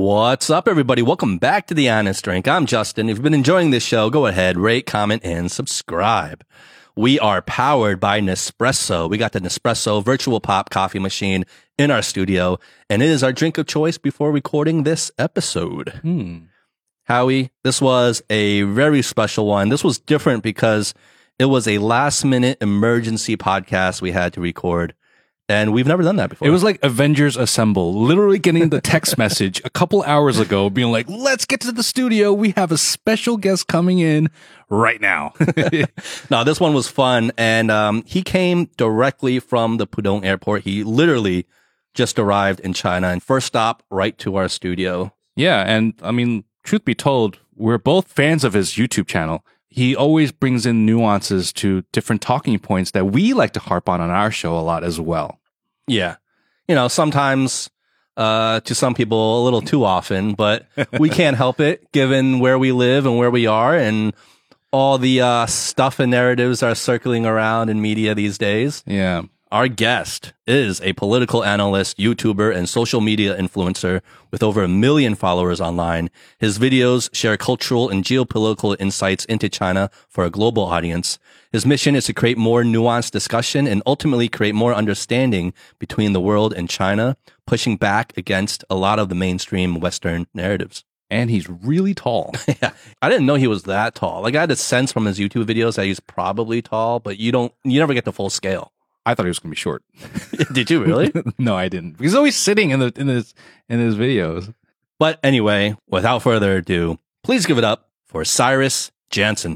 What's up, everybody? Welcome back to The Honest Drink. I'm Justin. If you've been enjoying this show, go ahead, rate, comment, and subscribe. We are powered by Nespresso. We got the Nespresso virtual pop coffee machine in our studio, and it is our drink of choice before recording this episode. Howie, this was a very special one. This was different because it was a last-minute emergency podcast we had to record. And we've never done that before. It was like Avengers Assemble, literally getting the text message a couple hours ago being like, let's get to the studio. We have a special guest coming in right now. No, this one was fun. And he came directly from the Pudong airport. He literally just arrived in China and first stop right to our studio. Yeah. And I mean, truth be told, we're both fans of his YouTube channel. He always brings in nuances to different talking points that we like to harp on our show a lot as well. Yeah. You know, sometimes to some people a little too often, but we can't help it given where we live and where we are and all the stuff and narratives are circling around in media these days. Yeah. Our guest is a political analyst, YouTuber, and social media influencer with over 1 million followers online. His videos share cultural and geopolitical insights into China for a global audience. His mission is to create more nuanced discussion and ultimately create more understanding between the world and China, pushing back against a lot of the mainstream Western narratives. And he's really tall. Yeah. I didn't know he was that tall. Like, I had a sense from his YouTube videos that he's probably tall, but you never get the full scale. I thought he was going to be short. Did you really? No, I didn't. He's always sitting in his videos. But anyway, without further ado, please give it up for Cyrus Jansen.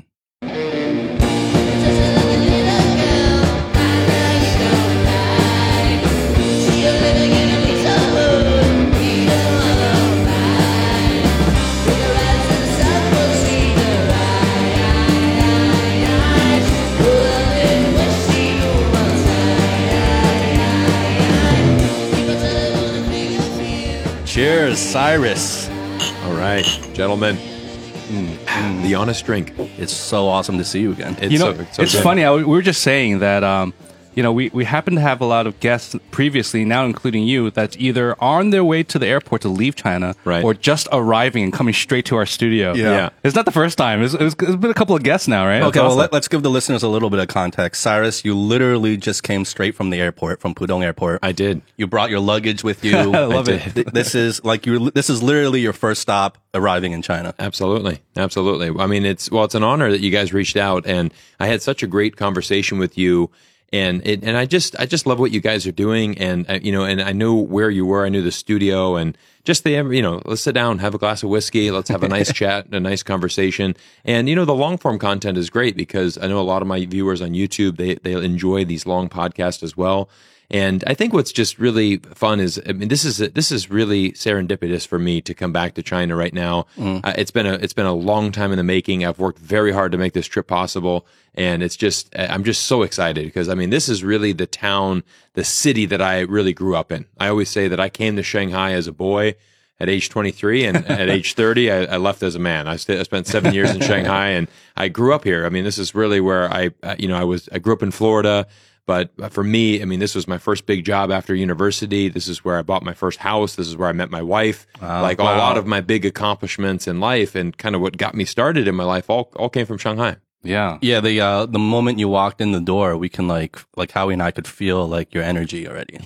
Cheers, Cyrus. All right, gentlemen. The Honest Drink. It's so awesome to see you again. It's funny. We were just saying that, we happen to have a lot of guests previously, now including you, that's either on their way to the airport to leave China or just arriving and coming straight to our studio. Yeah. It's not the first time. It's been a couple of guests now, right? Okay, well, let's give the listeners a little bit of context. Cyrus, you literally just came straight from the airport, from Pudong Airport. I did. You brought your luggage with you. I love it. This is literally your first stop arriving in China. Absolutely. I mean, it's an honor that you guys reached out, and I had such a great conversation with you. And I just love what you guys are doing, and and I knew where you were. I knew the studio, and just let's sit down, have a glass of whiskey, let's have a nice chat, a nice conversation. And the long form content is great because I know a lot of my viewers on YouTube they enjoy these long podcasts as well. And I think what's just really fun is, I mean, this is really serendipitous for me to come back to China right now. It's been a long time in the making. I've worked very hard to make this trip possible, and I'm just so excited because I mean, this is really the city that I really grew up in. I always say that I came to Shanghai as a boy at age 23, and at age 30, I left as a man. I spent 7 years in Shanghai, and I grew up here. I mean, this is really where I grew up in Florida. But for me, I mean, this was my first big job after university. This is where I bought my first house. This is where I met my wife. A lot of my big accomplishments in life and kind of what got me started in my life all came from Shanghai. Yeah. Yeah, the moment you walked in the door, we can like Howie and I could feel like your energy already.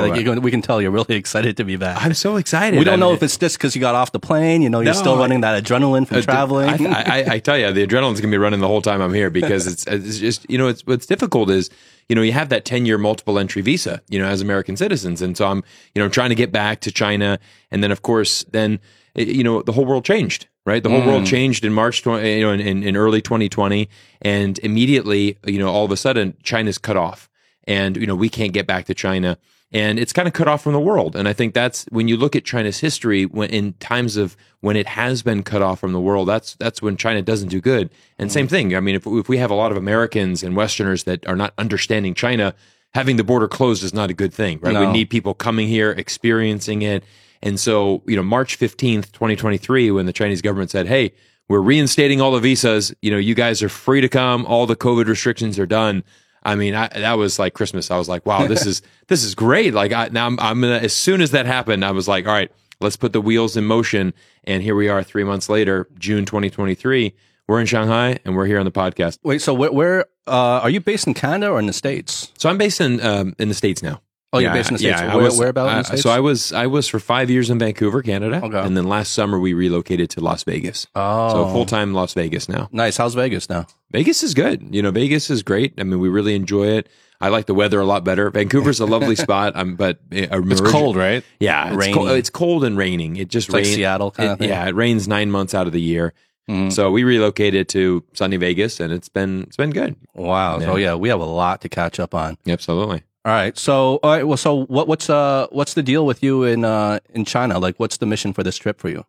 We can tell you're really excited to be back. I'm so excited. We don't know if it's just because you got off the plane, you're still running that adrenaline from traveling. I tell you, the adrenaline's going to be running the whole time I'm here because it's just, what's difficult is, you have that 10-year multiple entry visa, as American citizens. And so I'm, trying to get back to China. And then, of course, the whole world changed, right? The whole world changed in March, in early 2020. And immediately, all of a sudden, China's cut off. And, we can't get back to China. And it's kind of cut off from the world. And I think that's when you look at China's history, when in times of when it has been cut off from the world, that's when China doesn't do good. And same thing. I mean, if we have a lot of Americans and Westerners that are not understanding China, having the border closed is not a good thing, right? No. We need people coming here, experiencing it. And so, March 15th, 2023, when the Chinese government said, hey, we're reinstating all the visas, you guys are free to come, all the COVID restrictions are done. I mean, that was like Christmas. I was like, wow, this is great. Like I'm gonna, as soon as that happened, I was like, all right, let's put the wheels in motion. And here we are 3 months later, June 2023. We're in Shanghai and we're here on the podcast. Wait, so where are you based in Canada or in the States? So I'm based in the States now. Oh, you're based in the States. Yeah, Where about in the States? So I was for 5 years in Vancouver, Canada. Okay. And then last summer we relocated to Las Vegas. Oh. So full-time Las Vegas now. Nice. How's Vegas now? Vegas is good. Vegas is great. I mean, we really enjoy it. I like the weather a lot better. Vancouver's a lovely spot, but it's cold, right? Yeah, it's cold and raining. It just rains. Like Seattle kind of thing. Yeah, it rains 9 months out of the year. So we relocated to sunny Vegas, and it's been good. Wow. So yeah, we have a lot to catch up on. Absolutely. All right. So what's the deal with you in China? Like, what's the mission for this trip for you?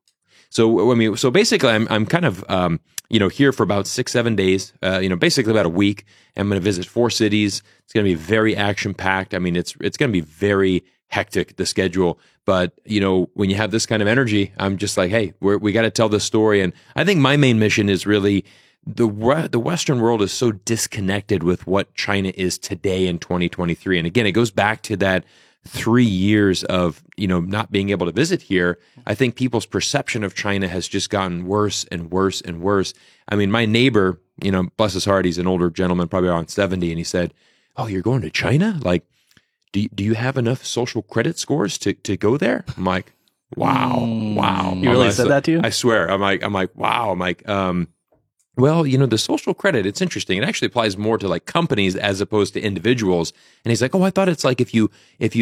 So basically, I'm kind of here for about 6-7 days. Basically about a week. I'm going to visit 4 cities. It's going to be very action packed. I mean, it's going to be very hectic, the schedule. But when you have this kind of energy, I'm just like, hey, we got to tell this story. And I think my main mission is really the Western world is so disconnected with what China is today in 2023. And again, it goes back to that 3 years of not being able to visit here. I think people's perception of China has just gotten worse and worse and worse. I mean, my neighbor, bless his heart, he's an older gentleman, probably around 70, and he said, "Oh, you're going to China? Like, do you have enough social credit scores to go there?" I'm like, wow. You really said that to you? I swear. I'm like, wow. I'm like, well, the social credit, it's interesting. It actually applies more to like companies as opposed to individuals. And he's like, oh, I thought it's like if you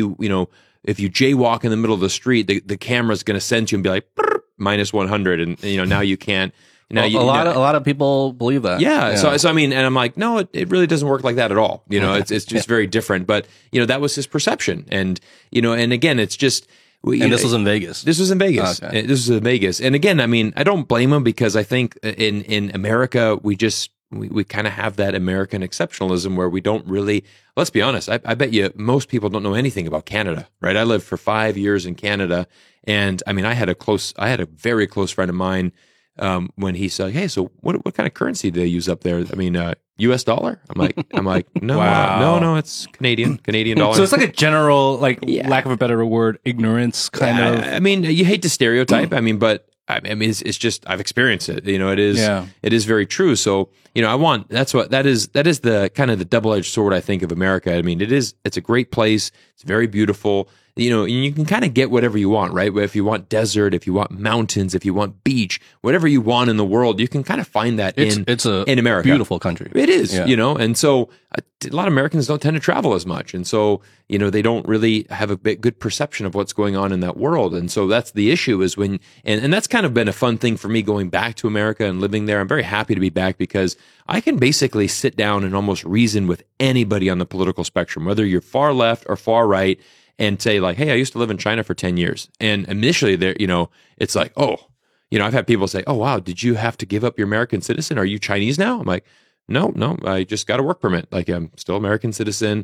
jaywalk in the middle of the street, the camera's going to send you and be like minus 100, and now you can't. Now a lot of people believe that. Yeah. So I mean, and I'm like, no, it really doesn't work like that at all. It's just very different. But that was his perception, and and again, it's just. And this was in Vegas. This was in Vegas. Okay. This was in Vegas. And again, I mean, I don't blame him because I think in America, we kind of have that American exceptionalism where we don't really, let's be honest, I bet you most people don't know anything about Canada, right? I lived for 5 years in Canada. And I mean, I had a very close friend of mine when he said, hey, so what kind of currency do they use up there? I mean, US dollar? I'm like, no, wow. no, it's Canadian dollar. So it's like a general, lack of a better word, ignorance kind of. I mean, you hate to stereotype. I mean, but I mean, it's just I've experienced it. It is very true. So that is the kind of the double-edged sword I think of America. I mean, it's a great place. It's very beautiful. And you can kind of get whatever you want, right? If you want desert, if you want mountains, if you want beach, whatever you want in the world, you can kind of find that in America. Beautiful country. It is, and so a lot of Americans don't tend to travel as much. And so, they don't really have a good perception of what's going on in that world. And so that's the issue is and that's kind of been a fun thing for me going back to America and living there. I'm very happy to be back because I can basically sit down and almost reason with anybody on the political spectrum, whether you're far left or far right, and say like, hey, I used to live in China for 10 years. And initially there, it's like, oh, I've had people say, oh, wow, did you have to give up your American citizen? Are you Chinese now? I'm like, no, I just got a work permit. Like I'm still American citizen.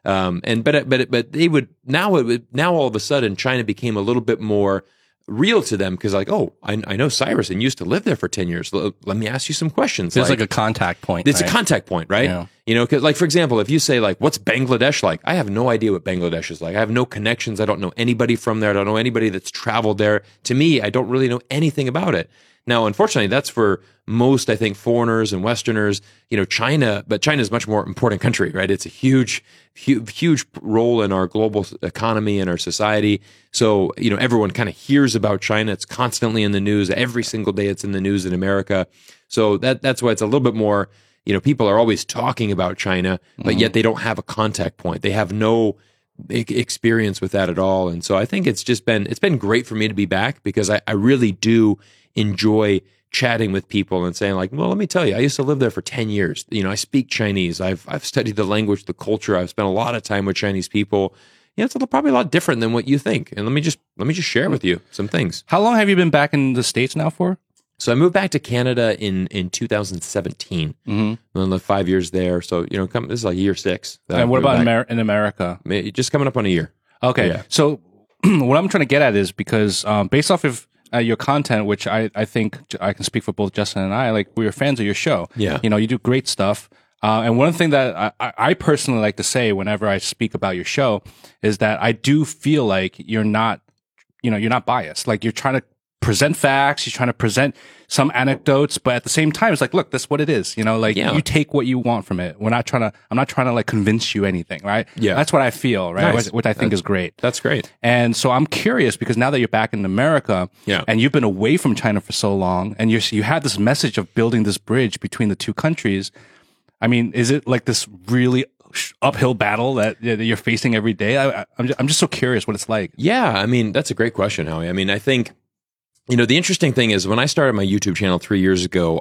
But they would now all of a sudden China became a little bit more real to them because like, oh, I know Cyrus and used to live there for 10 years. Let me ask you some questions. It's like a contact point. It's a contact point, right? Yeah. Because like, for example, if you say like, what's Bangladesh like? I have no idea what Bangladesh is like. I have no connections. I don't know anybody from there. I don't know anybody that's traveled there. To me, I don't really know anything about it. Now, unfortunately, that's for most, I think, foreigners and Westerners, China, but China is a much more important country, right? It's a huge role in our global economy and our society. So, everyone kind of hears about China. It's constantly in the news. Every single day it's in the news in America. So that's why it's a little bit more, people are always talking about China, but yet they don't have a contact point. They have no experience with that at all. And so I think it's been great for me to be back because I really do enjoy chatting with people and saying like, well, let me tell you, I used to live there for 10 years. I speak Chinese. I've studied the language, the culture. I've spent a lot of time with Chinese people. It's probably a lot different than what you think. And let me just share with you some things. How long have you been back in the States now for? So I moved back to Canada in 2017. Mm-hmm. I lived 5 years there. So, this is like year 6. And what about in America? Just coming up on a year. Okay. Yeah. So what I'm trying to get at is because based off of your content, which I think I can speak for both Justin and I, like we are fans of your show. Yeah. You do great stuff. And one thing that I personally like to say whenever I speak about your show is that I do feel like you're not, you're not biased. Like, you're trying to present facts, you're trying to present some anecdotes, but at the same time, it's like, look, that's what it is. You take what you want from it. I'm not trying to like convince you anything, right? Yeah. That's what I feel, right? Nice. What I think is great. That's great. And so I'm curious, because now that you're back in America, and you've been away from China for so long, and you had this message of building this bridge between the two countries. I mean, is it like this really uphill battle that you're facing every day? I'm just so curious what it's like. Yeah, I mean, that's a great question, Howie. I mean, I think, the interesting thing is, when I started my YouTube channel 3 years ago,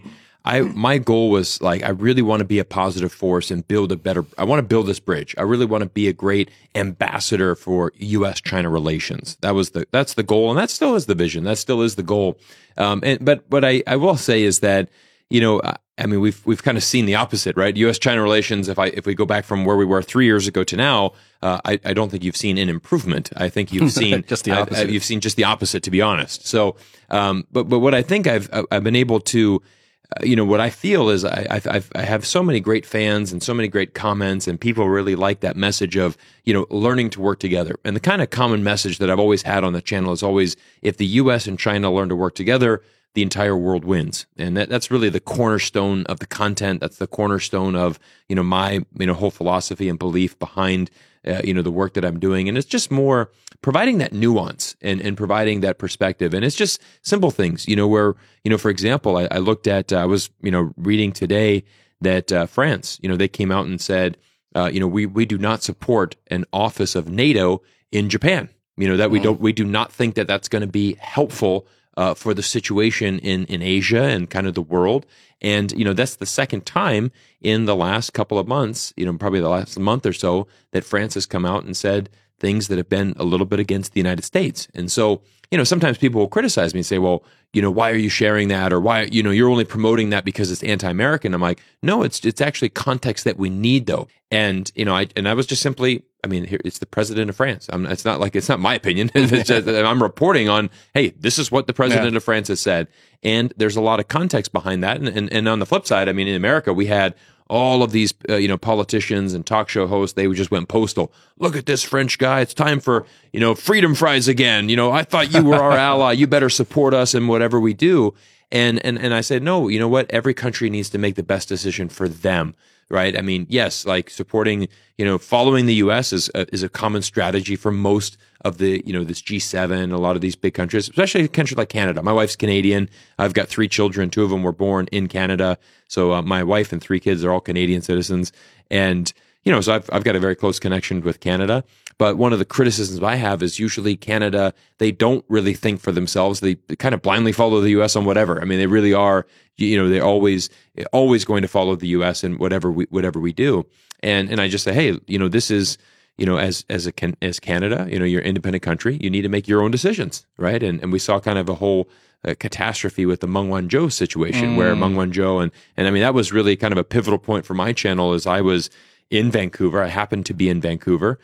my goal was like, I really want to be a positive force and I want to build this bridge. I really want to be a great ambassador for U.S.-China relations. That's the goal, and that still is the vision. That still is the goal. But what I will say is that, I mean, we've kind of seen the opposite, right? U.S.-China relations, if we go back from where we were 3 years ago to now, I don't think you've seen an improvement. I think you've seen just the opposite. You've seen just the opposite, to be honest. So, but what I think I've been able to, what I feel is I have so many great fans and so many great comments, and people really like that message of, learning to work together. And the kind of common message that I've always had on the channel is always, if the U.S. and China learn to work together, the entire world wins. And that's really the cornerstone of the content. That's the cornerstone of, my, whole philosophy and belief behind, the work that I'm doing. And it's just more providing that nuance and providing that perspective. And it's just simple things, where, for example, I looked at, I was, reading today that France, they came out and said, we do not support an office of NATO in Japan, that we do not think that that's going to be helpful for the situation in Asia and kind of the world. And, that's the second time in the last couple of months, probably the last month or so, that France has come out and said things that have been a little bit against the United States. And so, sometimes people will criticize me and say, well, why are you sharing that? Or why, you're only promoting that because it's anti-American. I'm like, no, it's actually context that we need, though. And, I was just simply, here, it's the president of France. It's not my opinion. It's just, I'm reporting on, hey, this is what the president of France has said. And there's a lot of context behind that. And on the flip side, in America, we had all of these, politicians and talk show hosts, they just went postal. Look at this French guy. It's time for, freedom fries again. I thought you were our ally. You better support us in whatever we do. And I said, no, you know what? Every country needs to make the best decision for them. Right. Yes, like supporting, following the U.S. is a common strategy for most of the, this G7, a lot of these big countries, especially a country like Canada. My wife's Canadian. I've got 3 children. 2 of them were born in Canada. So my wife and 3 kids are all Canadian citizens. And, so I've got a very close connection with Canada. But one of the criticisms I have is usually Canada, they don't really think for themselves. They kind of blindly follow the U.S. on whatever. They really are, they're always going to follow the U.S. in whatever we do. And I just say, hey, this is, as Canada, you're an independent country, you need to make your own decisions, right? And we saw kind of a whole catastrophe with the Meng Wanzhou situation where Meng Wanzhou, and that was really kind of a pivotal point for my channel as I was in Vancouver. I happened to be in Vancouver.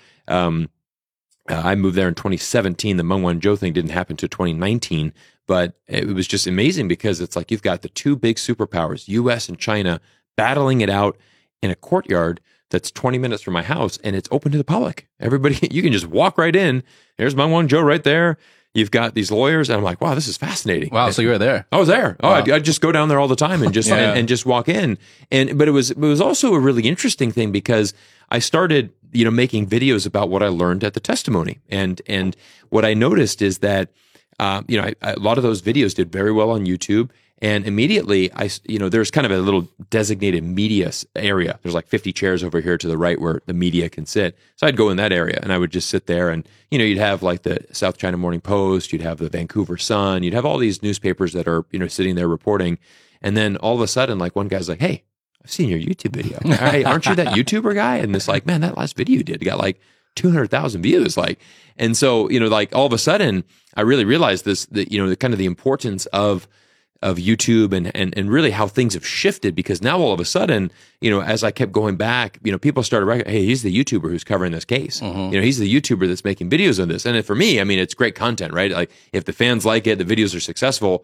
I moved there in 2017. The Meng Wanzhou thing didn't happen to 2019, but it was just amazing because it's like you've got the 2 big superpowers, U.S. and China, battling it out in a courtyard that's 20 minutes from my house, and it's open to the public. Everybody, you can just walk right in. There's Meng Wanzhou right there. You've got these lawyers, and I'm like, wow, this is fascinating. Wow, so you were there? I was there. Wow. I'd just go down there all the time and just and just walk in. But it was also a really interesting thing because I started, making videos about what I learned at the testimony, and what I noticed is that, a lot of those videos did very well on YouTube. And immediately, there's kind of a little designated media area. There's like 50 chairs over here to the right where the media can sit. So I'd go in that area and I would just sit there and, you'd have like the South China Morning Post, you'd have the Vancouver Sun, you'd have all these newspapers that are, sitting there reporting. And then all of a sudden, like one guy's like, hey, I've seen your YouTube video. Hey, aren't you that YouTuber guy? And it's like, man, that last video you did, it got like 200,000 views. And so, all of a sudden I really realized this, that, the kind of the importance of YouTube and really how things have shifted, because now all of a sudden, as I kept going back, people started recognizing, hey, he's the YouTuber who's covering this case. He's the YouTuber that's making videos on this. And for me, it's great content, right? Like if the fans like it, the videos are successful,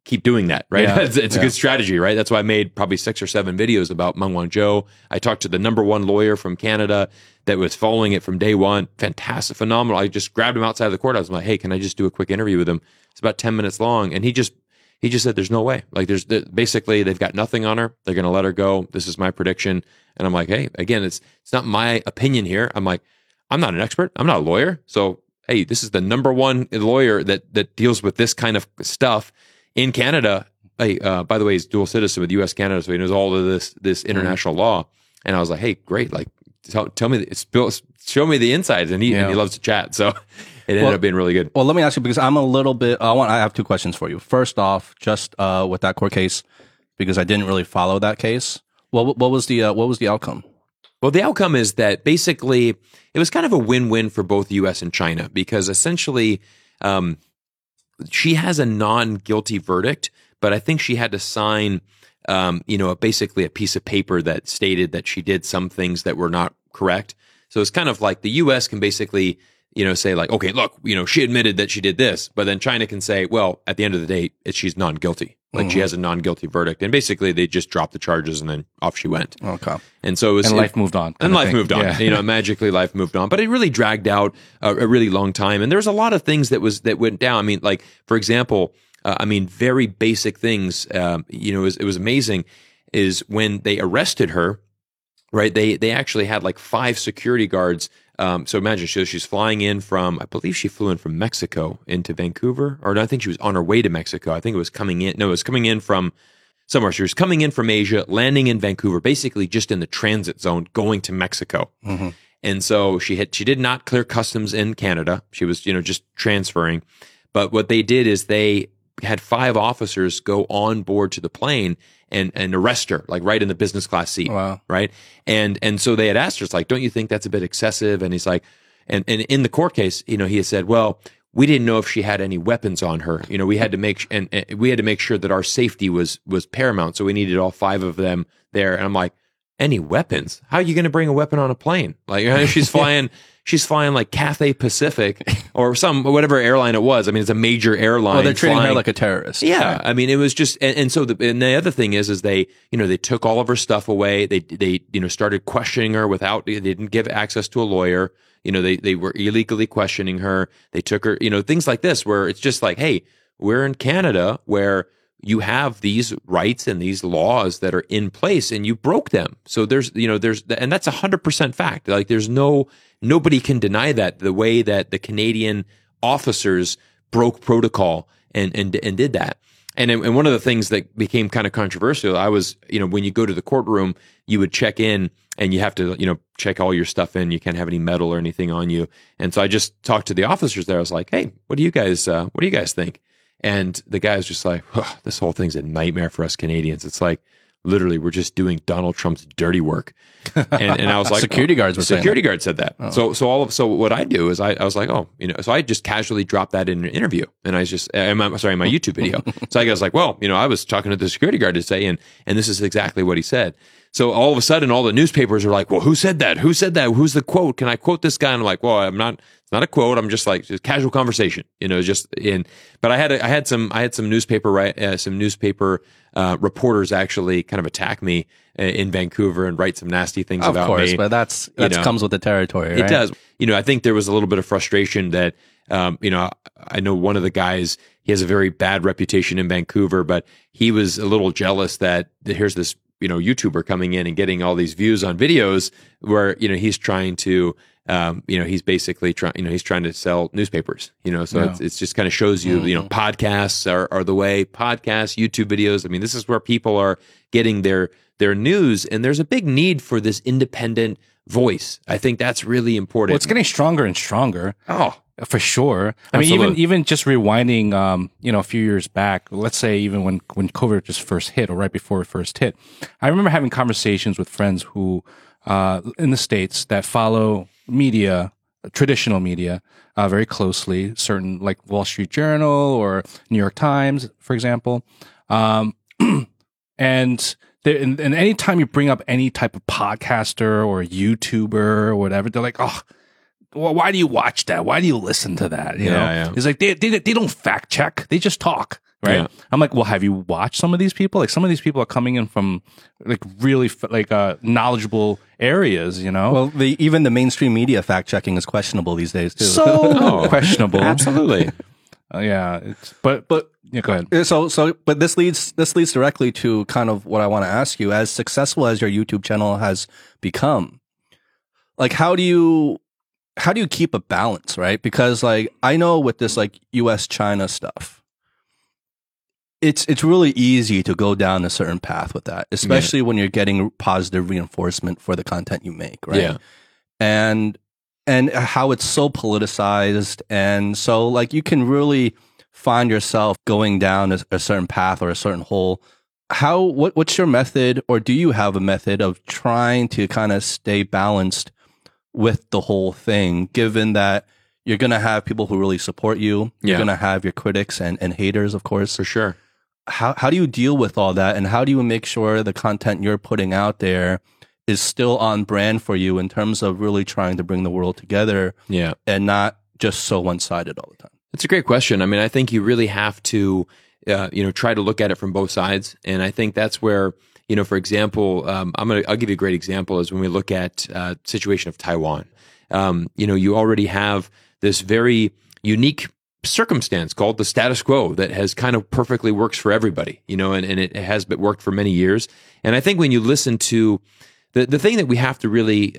keep doing that, right? Yeah. It's a good strategy, right? That's why I made probably 6 or 7 videos about Meng Wanzhou. I talked to the #1 lawyer from Canada that was following it from day one. Fantastic, phenomenal. I just grabbed him outside of the courthouse. I'm like, hey, can I just do a quick interview with him? It's about 10 minutes long. And he just said, there's no way. Like basically they've got nothing on her. They're going to let her go. This is my prediction. And I'm like, hey, again, it's not my opinion here. I'm like, I'm not an expert. I'm not a lawyer. So, hey, this is the #1 lawyer that deals with this kind of stuff in Canada. Hey, by the way, he's dual citizen with U.S. Canada, so he knows all of this international law. And I was like, hey, great. Like, tell me, show me the insides. And he loves to chat. So it ended up being really good. Well, let me ask you, because I'm a little bit, I have 2 questions for you. First off, just with that court case, because I didn't really follow that case. What was the outcome? Well, the outcome is that basically it was kind of a win-win for both the U.S. and China, because essentially she has a non-guilty verdict, but I think she had to sign, basically a piece of paper that stated that she did some things that were not correct. So it's kind of like the U.S. can basically, say like, okay, look, she admitted that she did this, but then China can say, well, at the end of the day, she's non-guilty. Like she has a non-guilty verdict, and basically they just dropped the charges, and then off she went. Okay. And so life moved on. And life moved on. Yeah. Magically life moved on. But it really dragged out a really long time, and there's a lot of things that went down. I mean, like for example, very basic things. It was amazing. Is when they arrested her, right? They actually had like 5 security guards. So imagine she's flying in from, I believe she flew in from Mexico into Vancouver, or no, I think she was on her way to Mexico. I think it was coming in. No, it was coming in from somewhere. She was coming in from Asia, landing in Vancouver, basically just in the transit zone, going to Mexico. Mm-hmm. And so she did not clear customs in Canada. She was, just transferring. But what they did is they had 5 officers go on board to the plane and arrest her, like right in the business class seat. Wow. Right. And so they had asked her, it's like, don't you think that's a bit excessive? And he's like, and in the court case, he had said, well, we didn't know if she had any weapons on her. We had to make, and we had to make sure that our safety was paramount. So we needed all 5 of them there. And I'm like, any weapons? How are you going to bring a weapon on a plane? Like she's flying like Cathay Pacific or whatever airline it was. I mean, it's a major airline. Well, they're treating her like a terrorist. Yeah. Right? I mean, it was just, and so the other thing is they took all of her stuff away. They started questioning her they didn't give access to a lawyer. They were illegally questioning her. They took her, things like this, where it's just like, hey, we're in Canada where you have these rights and these laws that are in place, and you broke them. So and that's 100% fact. Like nobody can deny that, the way that the Canadian officers broke protocol and did that. And one of the things that became kind of controversial, I was, when you go to the courtroom, you would check in and you have to, check all your stuff in. You can't have any metal or anything on you. And so I just talked to the officers there. I was like, hey, what do you guys think? And the guy was just like, this whole thing's a nightmare for us Canadians. It's like, literally, we're just doing Donald Trump's dirty work. And I was like, security guards said that. Oh. So what I do is I was like, so I just casually dropped that in an interview, and I just, my YouTube video. So I was like, well, I was talking to the security guard today, and this is exactly what he said. So all of a sudden, all the newspapers are like, well, who said that? Who said that? Who's the quote? Can I quote this guy? And I'm like, well, it's not a quote. I'm just like, just casual conversation, but I had some newspaper, some newspaper reporters actually kind of attack me in Vancouver and write some nasty things about me. Of course, but that comes with the territory, right? It does. I think there was a little bit of frustration that, I know one of the guys, he has a very bad reputation in Vancouver, but he was a little jealous that here's this, YouTuber coming in and getting all these views on videos where, he's trying to, he's basically he's trying to sell newspapers, so it's just kind of shows you, podcasts are the way. Podcasts, YouTube videos. I mean, this is where people are getting their news, and there's a big need for this independent voice. I think that's really important. Well, it's getting stronger and stronger. Oh, for sure. Absolutely. I mean, even just rewinding, a few years back, let's say even when COVID just first hit or right before it first hit, I remember having conversations with friends who, in the States that follow media, traditional media, very closely, certain like Wall Street Journal or New York Times, for example. And anytime you bring up any type of podcaster or YouTuber or whatever, they're like, oh, well, why do you watch that? Why do you listen to that? You know? Yeah. It's like they don't fact check. They just talk. right? Yeah. I'm like, well, have you watched some of these people? Like, some of these people are coming in from like really knowledgeable areas, you know? Well, even the mainstream media fact checking is questionable these days too. So questionable. Absolutely. Yeah, but yeah, go ahead. But this leads directly to kind of what I want to ask you. As successful as your YouTube channel has become, like, how do you keep a balance, right? Because like I know with this like US China stuff, it's really easy to go down a certain path with that, especially when you're getting positive reinforcement for the content you make, right? Yeah. And how it's so politicized, and so like you can really find yourself going down a certain path or a certain hole. What's your method, or do you have a method of trying to kind of stay balanced with the whole thing, given that you're going to have people who really support you, you're going to have your critics and haters, of course. For sure. How do you deal with all that, and how do you make sure the content you're putting out there is still on brand for you in terms of really trying to bring the world together, and not just so one-sided all the time? It's a great question. I mean, I think you really have to, try to look at it from both sides, and I think that's where, for example, I'll give you a great example is when we look at situation of Taiwan. You already have this very unique circumstance called the status quo that has kind of perfectly works for everybody, and it has been worked for many years. And I think when you listen to the thing that we have to really,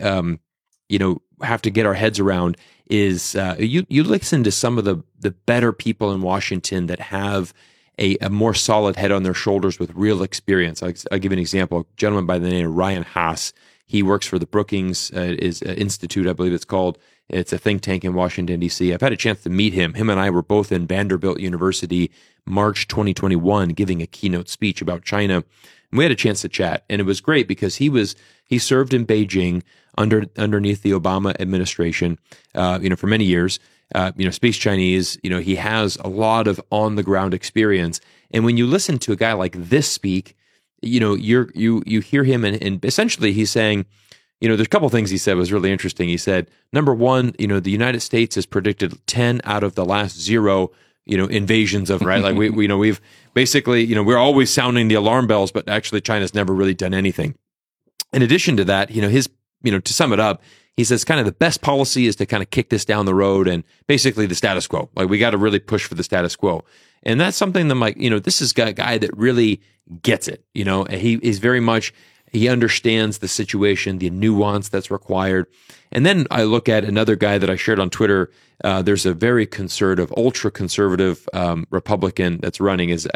have to get our heads around is you listen to some of the better people in Washington that have a more solid head on their shoulders with real experience. I'll give you an example. A gentleman by the name of Ryan Haas. He works for the Brookings Institute, I believe it's called. It's a think tank in Washington, D.C. I've had a chance to meet him. Him and I were both in Vanderbilt University, March 2021, giving a keynote speech about China. And we had a chance to chat, and it was great because he served in Beijing underneath the Obama administration, for many years. Speaks Chinese. He has a lot of on the ground experience. And when you listen to a guy like this speak, you hear him, and essentially he's saying, there's a couple of things he said was really interesting. He said, number one, the United States has predicted 10 out of the last 0, invasions of, right? Like we've basically, we're always sounding the alarm bells, but actually China's never really done anything. In addition to that, to sum it up, he says kind of the best policy is to kind of kick this down the road and basically the status quo. Like we got to really push for the status quo. And that's something that I'm like, this is a guy that really gets it. He's very much, he understands the situation, the nuance that's required. And then I look at another guy that I shared on Twitter. There's a very conservative, ultra conservative Republican that's running. He's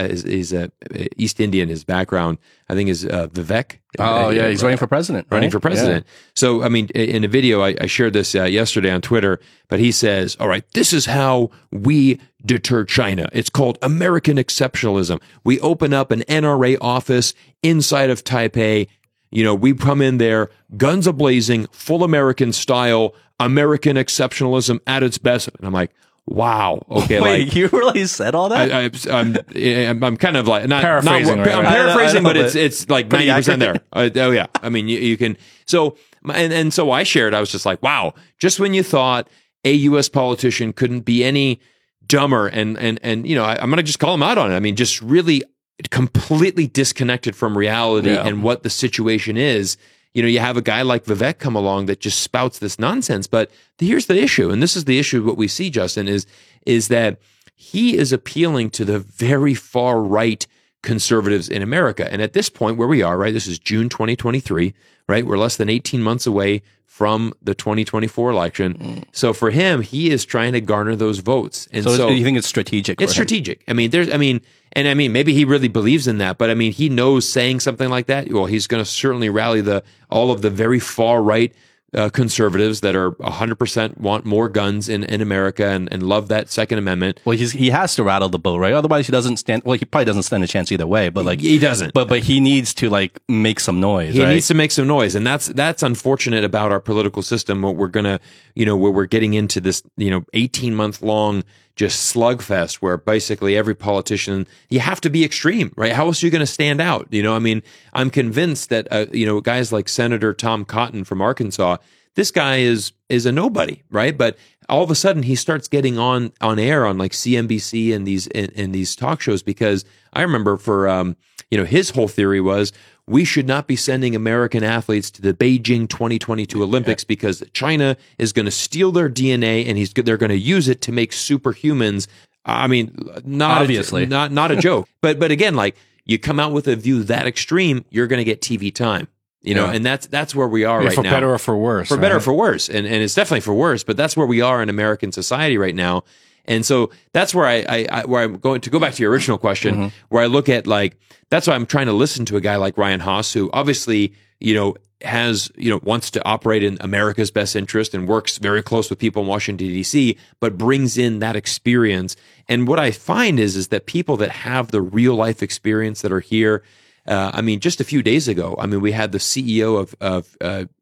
East Indian. His background, I think, is Vivek. Oh yeah, he's running for president. Running for president. Yeah. So I mean, in a video I shared this yesterday on Twitter. But he says, "All right, this is how we deter China. It's called American exceptionalism. We open up an NRA office inside of Taipei. We come in there, guns a-blazing, full American style, American exceptionalism at its best." And I'm like, wow. Okay. Wait, like you really said all that? I'm kind of like, not paraphrasing, right? I'm paraphrasing, I know, but it's like 90% there. Oh yeah. I mean, you can, so, and so I shared, I was just like, wow, just when you thought a U.S. politician couldn't be any dumber and I'm going to just call him out on it. I mean, just really completely disconnected from reality and what the situation is. You have a guy like Vivek come along that just spouts this nonsense. But here's the issue, and this is the issue. What we see, Justin, is that he is appealing to the very far right conservatives in America. And at this point, where we are, right? This is June 2023, right? We're less than 18 months away from the 2024 election. So for him, he is trying to garner those votes. And so you think it's strategic? It's strategic. I mean, maybe he really believes in that, but I mean, he knows saying something like that, well, he's going to certainly rally all of the very far right conservatives that are 100% want more guns in America and love that Second Amendment. Well, he has to rattle the boat, right? Otherwise, he doesn't stand. Well, he probably doesn't stand a chance either way. But like he doesn't. But he needs to like make some noise. He needs to make some noise, and that's unfortunate about our political system. What we're gonna, where we're getting into this, 18-month long just slugfest where basically every politician, you have to be extreme, right? How else are you going to stand out? I mean, I'm convinced that, guys like Senator Tom Cotton from Arkansas, this guy is a nobody, right? But all of a sudden he starts getting on air on like CNBC and these talk shows, because I remember for, his whole theory was we should not be sending American athletes to the Beijing 2022 Olympics because China is going to steal their DNA and they're going to use it to make superhumans. I mean, obviously not a joke. But again, like you come out with a view that extreme, you're going to get TV time. And that's where we are right now. For better or for worse. For better or for worse. And it's definitely for worse, but that's where we are in American society right now. And so that's where where I'm going to go back to your original question, where I look at like, that's why I'm trying to listen to a guy like Ryan Haas, who obviously, wants to operate in America's best interest and works very close with people in Washington, D.C., but brings in that experience. And what I find is that people that have the real life experience that are here, just a few days ago, we had the CEO of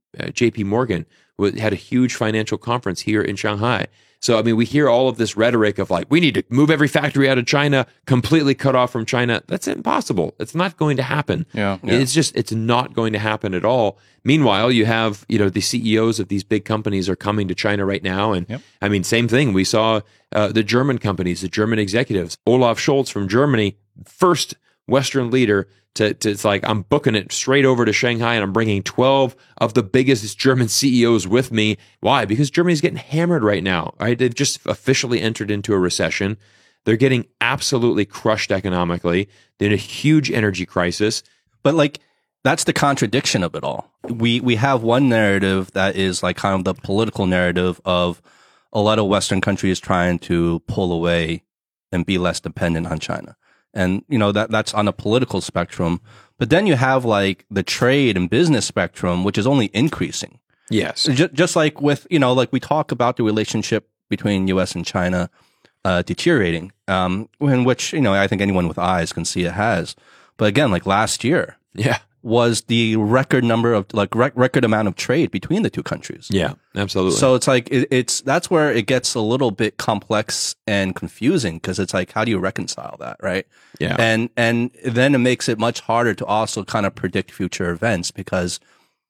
JP Morgan, who had a huge financial conference here in Shanghai. So, we hear all of this rhetoric of like, we need to move every factory out of China, completely cut off from China. That's impossible. It's not going to happen. Yeah. It's not going to happen at all. Meanwhile, you have, the CEOs of these big companies are coming to China right now. And same thing. We saw the German companies, the German executives, Olaf Scholz from Germany, first Western leader to it's like, I'm booking it straight over to Shanghai and I'm bringing 12 of the biggest German CEOs with me. Why? Because Germany's getting hammered right now, right? They've just officially entered into a recession. They're getting absolutely crushed economically. They're in a huge energy crisis. But like, that's the contradiction of it all. We have one narrative that is like kind of the political narrative of a lot of Western countries trying to pull away and be less dependent on China. And, that's on a political spectrum. But then you have like the trade and business spectrum, which is only increasing. Yes. Just like with, like we talk about the relationship between U.S. and China deteriorating, in which, I think anyone with eyes can see it has. But again, like last year. Yeah. Was the record number of record amount of trade between the two countries. Yeah, absolutely. So it's like, that's where it gets a little bit complex and confusing, because it's like, how do you reconcile that? Right. Yeah. And then it makes it much harder to also kind of predict future events, because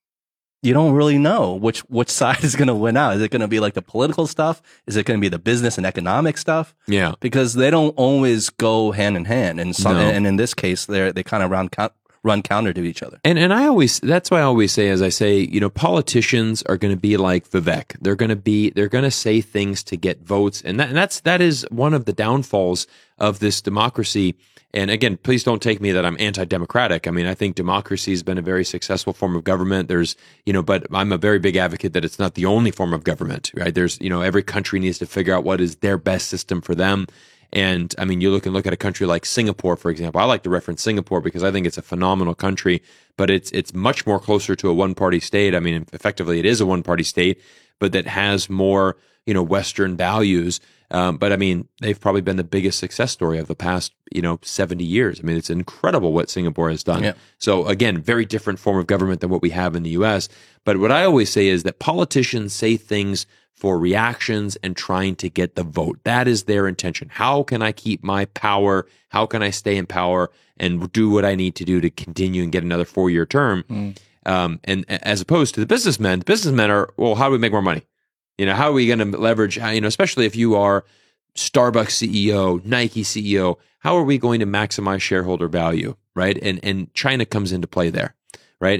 you don't really know which side is going to win out. Is it going to be like the political stuff? Is it going to be the business and economic stuff? Yeah. Because they don't always go hand in hand. And and in this case, they kind of run counter to each other. And that's why I always say, as I say, politicians are going to be like Vivek. They're going to say things to get votes. And that is one of the downfalls of this democracy. And again, please don't take me that I'm anti-democratic. I think democracy has been a very successful form of government. There's, but I'm a very big advocate that it's not the only form of government, right? There's, every country needs to figure out what is their best system for them. And you look at a country like Singapore, for example. I like to reference Singapore because I think it's a phenomenal country, but it's much more closer to a one-party state. Effectively, it is a one-party state, but that has more, Western values. But they've probably been the biggest success story of the past, 70 years. It's incredible what Singapore has done. Yeah. So again, very different form of government than what we have in the U.S. But what I always say is that politicians say things for reactions and trying to get the vote. That is their intention. How can I keep my power? How can I stay in power and do what I need to do to continue and get another 4-year term? And as opposed to the businessmen are, well, how do we make more money? How are we going to leverage, especially if you are Starbucks CEO, Nike CEO, how are we going to maximize shareholder value, right? And China comes into play there. Right.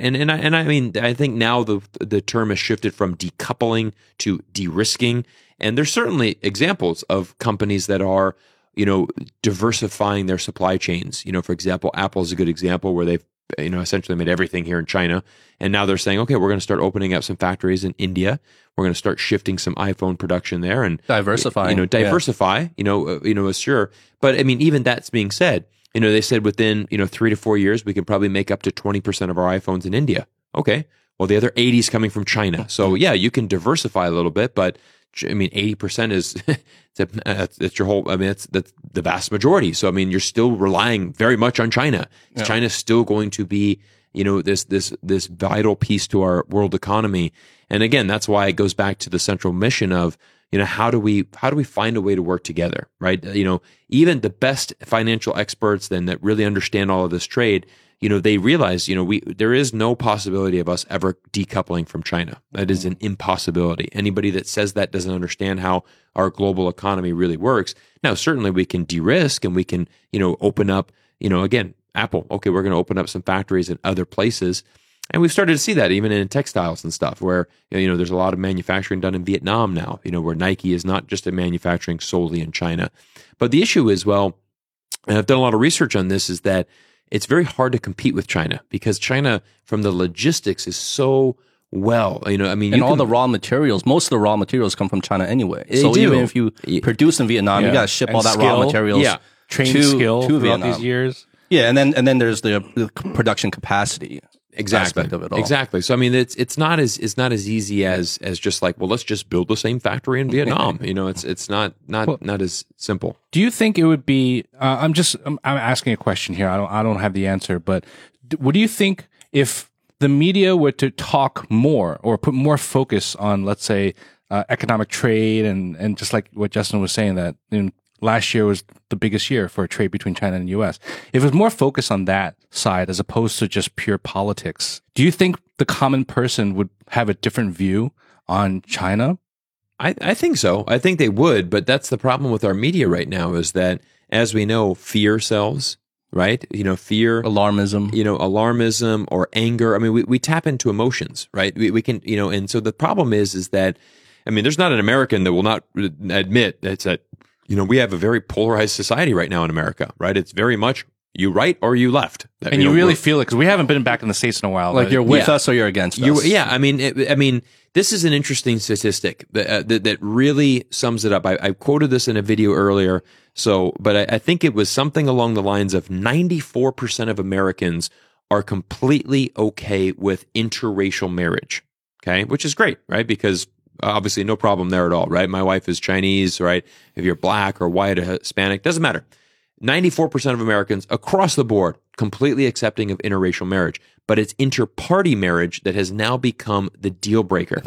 I think now the term has shifted from decoupling to de-risking. And there's certainly examples of companies that are, diversifying their supply chains. For example, Apple is a good example where they've, essentially made everything here in China. And now they're saying, okay, we're going to start opening up some factories in India. We're going to start shifting some iPhone production there and diversify. Sure. But even that's being said, they said within, 3 to 4 years, we can probably make up to 20% of our iPhones in India. Okay. Well, the other 80 is coming from China. So yeah, you can diversify a little bit, but 80% is, that's your whole, that's the vast majority. So, you're still relying very much on China. Yeah. China's still going to be, this vital piece to our world economy. And again, that's why it goes back to the central mission of, how do we find a way to work together, right? Even the best financial experts then that really understand all of this trade, they realize, there is no possibility of us ever decoupling from China. That is an impossibility. Anybody that says that doesn't understand how our global economy really works. Now, certainly we can de-risk and we can, open up, again, Apple, okay, we're going to open up some factories in other places. And we've started to see that even in textiles and stuff where, there's a lot of manufacturing done in Vietnam now, where Nike is not just a manufacturing solely in China. But the issue is, and I've done a lot of research on this, is that it's very hard to compete with China because China, from the logistics, is so and all the raw materials, most of the raw materials come from China anyway. So even if you produce in Vietnam, you got to ship all that raw materials, trained skill to throughout Vietnam. these years. Yeah, and then there's the production capacity. Aspect of it all. Exactly. So it's not as easy as just like, well, let's just build the same factory in Vietnam. It's not as simple. Do you think it would be? I'm asking a question here. I don't have the answer, but what do you think if the media were to talk more or put more focus on, let's say, economic trade and just like what Justin was saying, that last year was the biggest year for trade between China and the U.S. If it was more focused on that side as opposed to just pure politics, do you think the common person would have a different view on China? I think so. I think they would, but that's the problem with our media right now is that, as we know, fear sells, right? Fear, alarmism or anger. I mean, we tap into emotions, right? We can, and so the problem is that, there's not an American that will not admit that we have a very polarized society right now in America, right? It's very much you right or you left. And you really feel it because we haven't been back in the States in a while. Like you're with us or you're against us. This is an interesting statistic that really sums it up. I quoted this in a video earlier, but I think it was something along the lines of 94% of Americans are completely okay with interracial marriage, okay? Which is great, right? Because obviously, no problem there at all, right? My wife is Chinese, right? If you're black or white or Hispanic, doesn't matter. 94% of Americans across the board completely accepting of interracial marriage, but it's interparty marriage that has now become the deal breaker.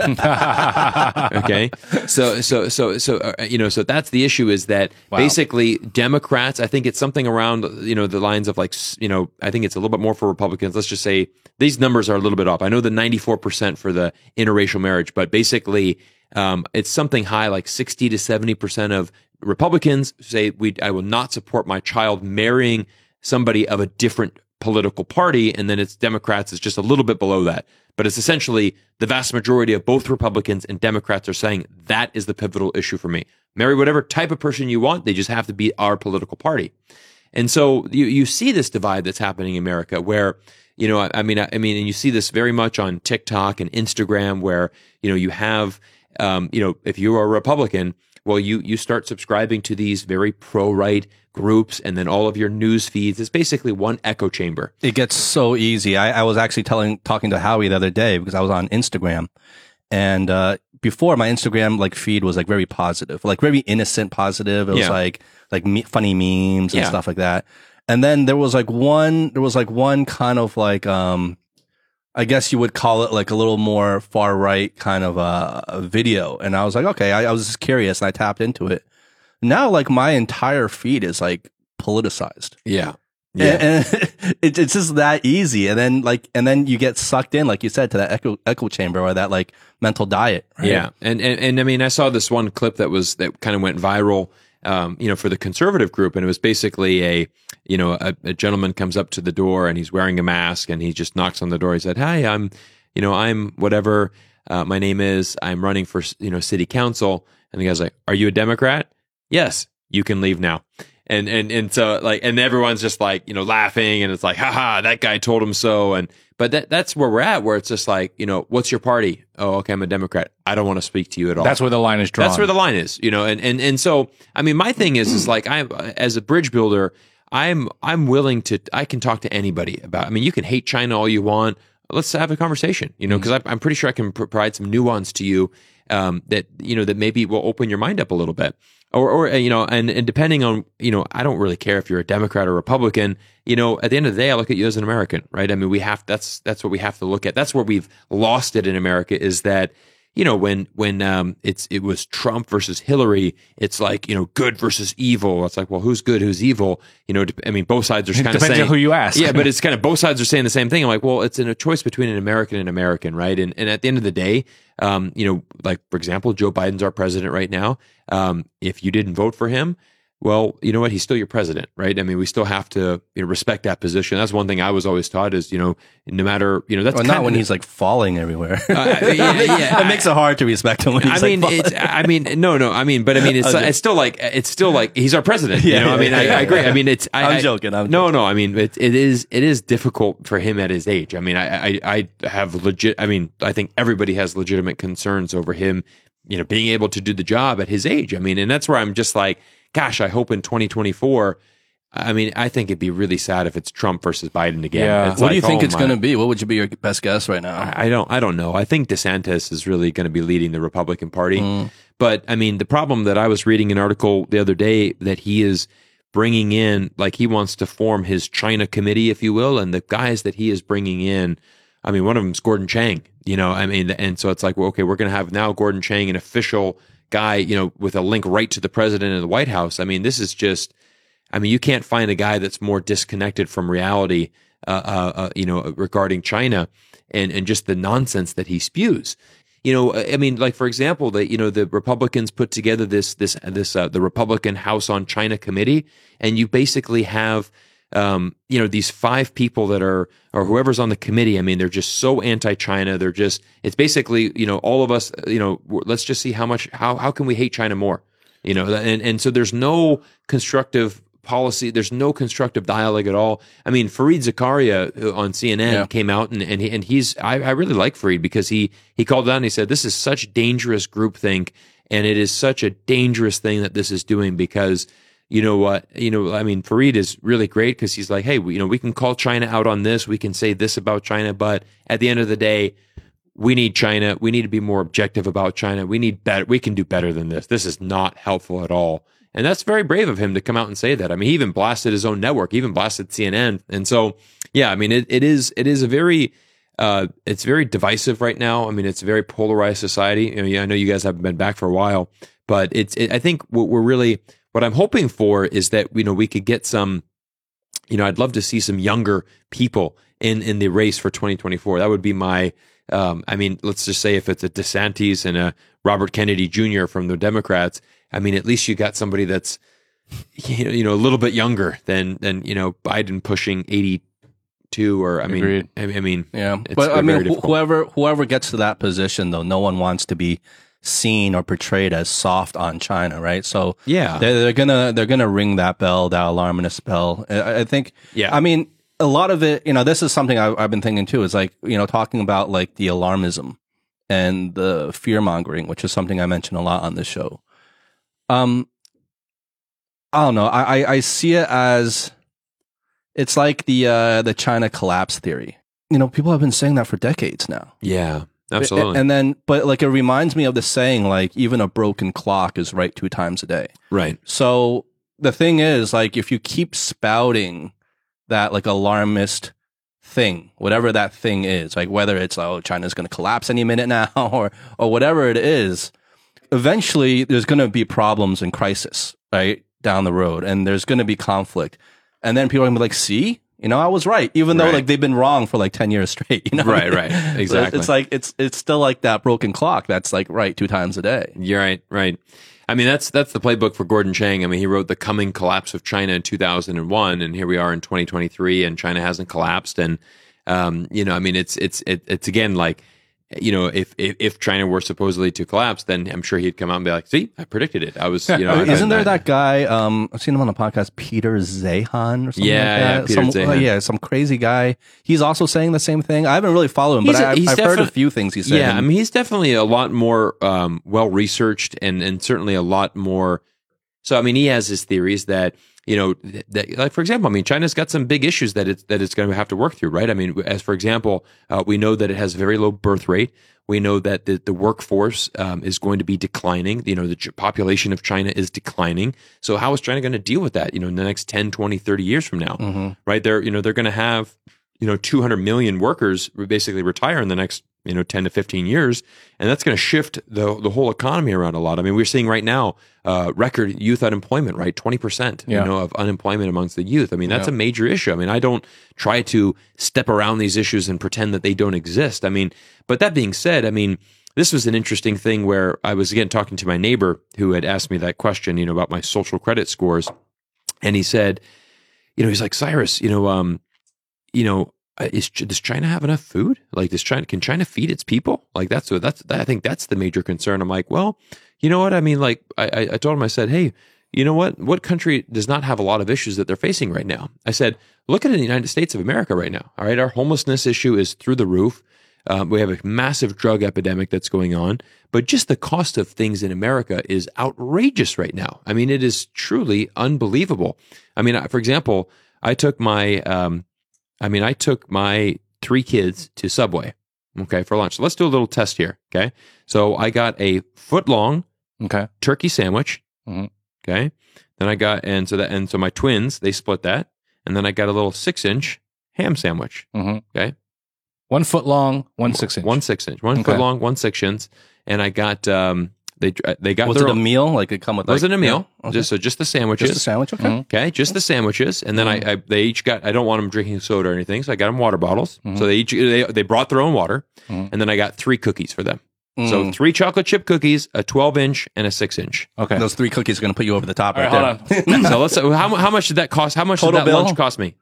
Okay, so that's the issue. Is that basically Democrats? I think it's something around the lines of like I think it's a little bit more for Republicans. Let's just say these numbers are a little bit off. I know the 94% for the interracial marriage, but basically it's something high like 60 to 70% of Republicans say I will not support my child marrying somebody of a different political party, and then it's Democrats is just a little bit below that. But it's essentially the vast majority of both Republicans and Democrats are saying that is the pivotal issue for me. Marry whatever type of person you want, they just have to be our political party. And so you see this divide that's happening in America where, and you see this very much on TikTok and Instagram where, you have, if you are a Republican, well, you start subscribing to these very pro-right groups, and then all of your news feeds is basically one echo chamber. It gets so easy. I was actually talking to Howie the other day because I was on Instagram, and before my Instagram feed was very positive, very innocent positive. It was funny memes and stuff like that. And then there was one kind of I guess you would call it a little more far right kind of a video. And I was like, okay, I was just curious and I tapped into it. Now, my entire feed is politicized. Yeah. And it's just that easy. And then you get sucked in, like you said, to that echo chamber or that mental diet. Right? Yeah. And I saw this one clip that kind of went viral, for the conservative group. And it was basically a gentleman comes up to the door and he's wearing a mask and he just knocks on the door. He said, "Hi, I'm whatever my name is. I'm running for, city council." And the guy's like, "Are you a Democrat?" "Yes, you can leave now." And so and everyone's just laughing and it's like, haha, that guy told him so. But that's where we're at, where it's just what's your party? "Oh, okay, I'm a Democrat. I don't want to speak to you at all." That's where the line is drawn. That's where the line is, and so, my thing is I, as a bridge builder, I'm willing to, I can talk to anybody about, you can hate China all you want. Let's have a conversation, because I'm pretty sure I can provide some nuance to you, that maybe will open your mind up a little bit. Or and depending on, I don't really care if you're a Democrat or Republican, at the end of the day, I look at you as an American, right? That's what we have to look at. That's where we've lost it in America, is that, when it was Trump versus Hillary, it's like, good versus evil. It's like, well, who's good, who's evil? I mean, both sides are kind of saying, depends on who you ask. Yeah, but it's kind of both sides are saying the same thing. I'm like, well, it's a choice between an American and American, right? And at the end of the day, like for example, Joe Biden's our president right now. If you didn't vote for him, well, you know what? He's still your president, right? I mean, we still have to respect that position. That's one thing I was always taught is, no matter, that's not when he's like falling everywhere. Yeah. It makes it hard to respect him when he's falling. It's still like he's our president. I agree. I mean, I'm joking. No. I mean, it is difficult for him at his age. I mean, I think everybody has legitimate concerns over him, being able to do the job at his age. I mean, and that's where I'm just like, gosh, I hope in 2024, I mean, I think it'd be really sad if it's Trump versus Biden again. Yeah. What do you think it's going to be? What would be your best guess right now? I don't know. I think DeSantis is really going to be leading the Republican Party. But I mean, the problem that I was reading an article the other day that he is bringing in, like he wants to form his China committee, if you will. And the guys that he is bringing in, I mean, one of them is Gordon Chang, and so it's like, well, okay, we're going to have now Gordon Chang, an official guy, with a link right to the president of the White House. I mean, this is just, you can't find a guy that's more disconnected from reality, regarding China and just the nonsense that he spews. Like for example, the Republicans put together the Republican House on China committee, and you basically have these 5 people that are, or whoever's on the committee, I mean, they're just so anti-China. It's basically, all of us, let's just see how can we hate China more, and so there's no constructive policy. There's no constructive dialogue at all. I mean, Fareed Zakaria on CNN came out and he's, I really like Fareed because he called out and he said, this is such dangerous groupthink. And it is such a dangerous thing that this is doing because you know what? Fareed is really great because he's like, hey, we can call China out on this. We can say this about China. But at the end of the day, we need China. We need to be more objective about China. We need better. We can do better than this. This is not helpful at all. And that's very brave of him to come out and say that. I mean, he even blasted his own network, he even blasted CNN. And so, yeah, I mean, it is a very, it's very divisive right now. I mean, it's a very polarized society. I know you guys haven't been back for a while, but I think what I'm hoping for is that, we could get some, I'd love to see some younger people in the race for 2024. That would be my, let's just say if it's a DeSantis and a Robert Kennedy Jr. from the Democrats, I mean, at least you got somebody that's, a little bit younger than Biden pushing 82 or, Agreed. Yeah. But whoever gets to that position though, no one wants to be seen or portrayed as soft on China, right? So yeah, they're gonna ring that bell, that alarmist bell. I think. Yeah. I mean, a lot of it, this is something I've been thinking too. Is like talking about like the alarmism and the fear mongering, which is something I mention a lot on this show. I don't know. I see it as it's like the China collapse theory. People have been saying that for decades now. Yeah. Absolutely. And then, but like, it reminds me of the saying, like, even a broken clock is right 2 times a day. Right. So the thing is, like, if you keep spouting that, like, alarmist thing, whatever that thing is, like, whether it's, oh, China's going to collapse any minute now or whatever it is, eventually there's going to be problems and crisis, right, down the road. And there's going to be conflict. And then people are going to be like, see? I was right, even though like they've been wrong for like 10 years straight. Right, exactly. So it's still like that broken clock that's like right 2 times a day. You're right. I mean, that's the playbook for Gordon Chang. I mean, he wrote The Coming Collapse of China in 2001, and here we are in 2023, and China hasn't collapsed. And I mean, it's again like, if China were supposedly to collapse, then I'm sure he'd come out and be like, see, I predicted it. I was, Isn't there that guy, I've seen him on the podcast, Peter Zeihan or something like that? Peter Zeihan. Some crazy guy. He's also saying the same thing. I haven't really followed him, but I've heard a few things he said. Yeah, I mean, he's definitely a lot more well-researched and certainly a lot more. So, I mean, he has his theories that, that, like, for example, I mean, China's got some big issues that it's going to have to work through, right? I mean, as for example, we know that it has a very low birth rate. We know that the workforce is going to be declining. The population of China is declining. So how is China going to deal with that, in the next 10, 20, 30 years from now, right? They're going to have, 200 million workers basically retire in the next 10 to 15 years. And that's going to shift the whole economy around a lot. I mean, we're seeing right now record youth unemployment, right? 20%, of unemployment amongst the youth. I mean, that's a major issue. I mean, I don't try to step around these issues and pretend that they don't exist. I mean, but that being said, I mean, this was an interesting thing where I was, again, talking to my neighbor who had asked me that question, about my social credit scores. And he said, he's like, Cyrus, does China have enough food? Like, can China feed its people? Like, I think that's the major concern. I'm like, well, you know what? I mean, like, I told him, I said, hey, you know what country does not have a lot of issues that they're facing right now? I said, look at the United States of America right now. All right. Our homelessness issue is through the roof. We have a massive drug epidemic that's going on, but just the cost of things in America is outrageous right now. I mean, it is truly unbelievable. I mean, for example, I took my 3 kids to Subway, okay, for lunch. So let's do a little test here, okay? So I got a foot-long turkey sandwich, okay? Then I got, so my twins, they split that, and then I got a little 6-inch ham sandwich, okay? 1 foot long, 1 6-inch. 1 6-inch, 1 foot long, 1 6-inch, and I got they got. Was it a meal? Like it come with? Was it a meal? Okay. Just the sandwiches. Just the sandwich. Okay. Okay, just the sandwiches, and then they each got. I don't want them drinking soda or anything, so I got them water bottles. So they brought their own water, and then I got 3 cookies for them. So 3 chocolate chip cookies, a 12-inch, and a 6-inch. Okay, those 3 cookies are going to put you over the top right there. Hold on. So let's. How much did that cost? How much Total did that bill? lunch cost me?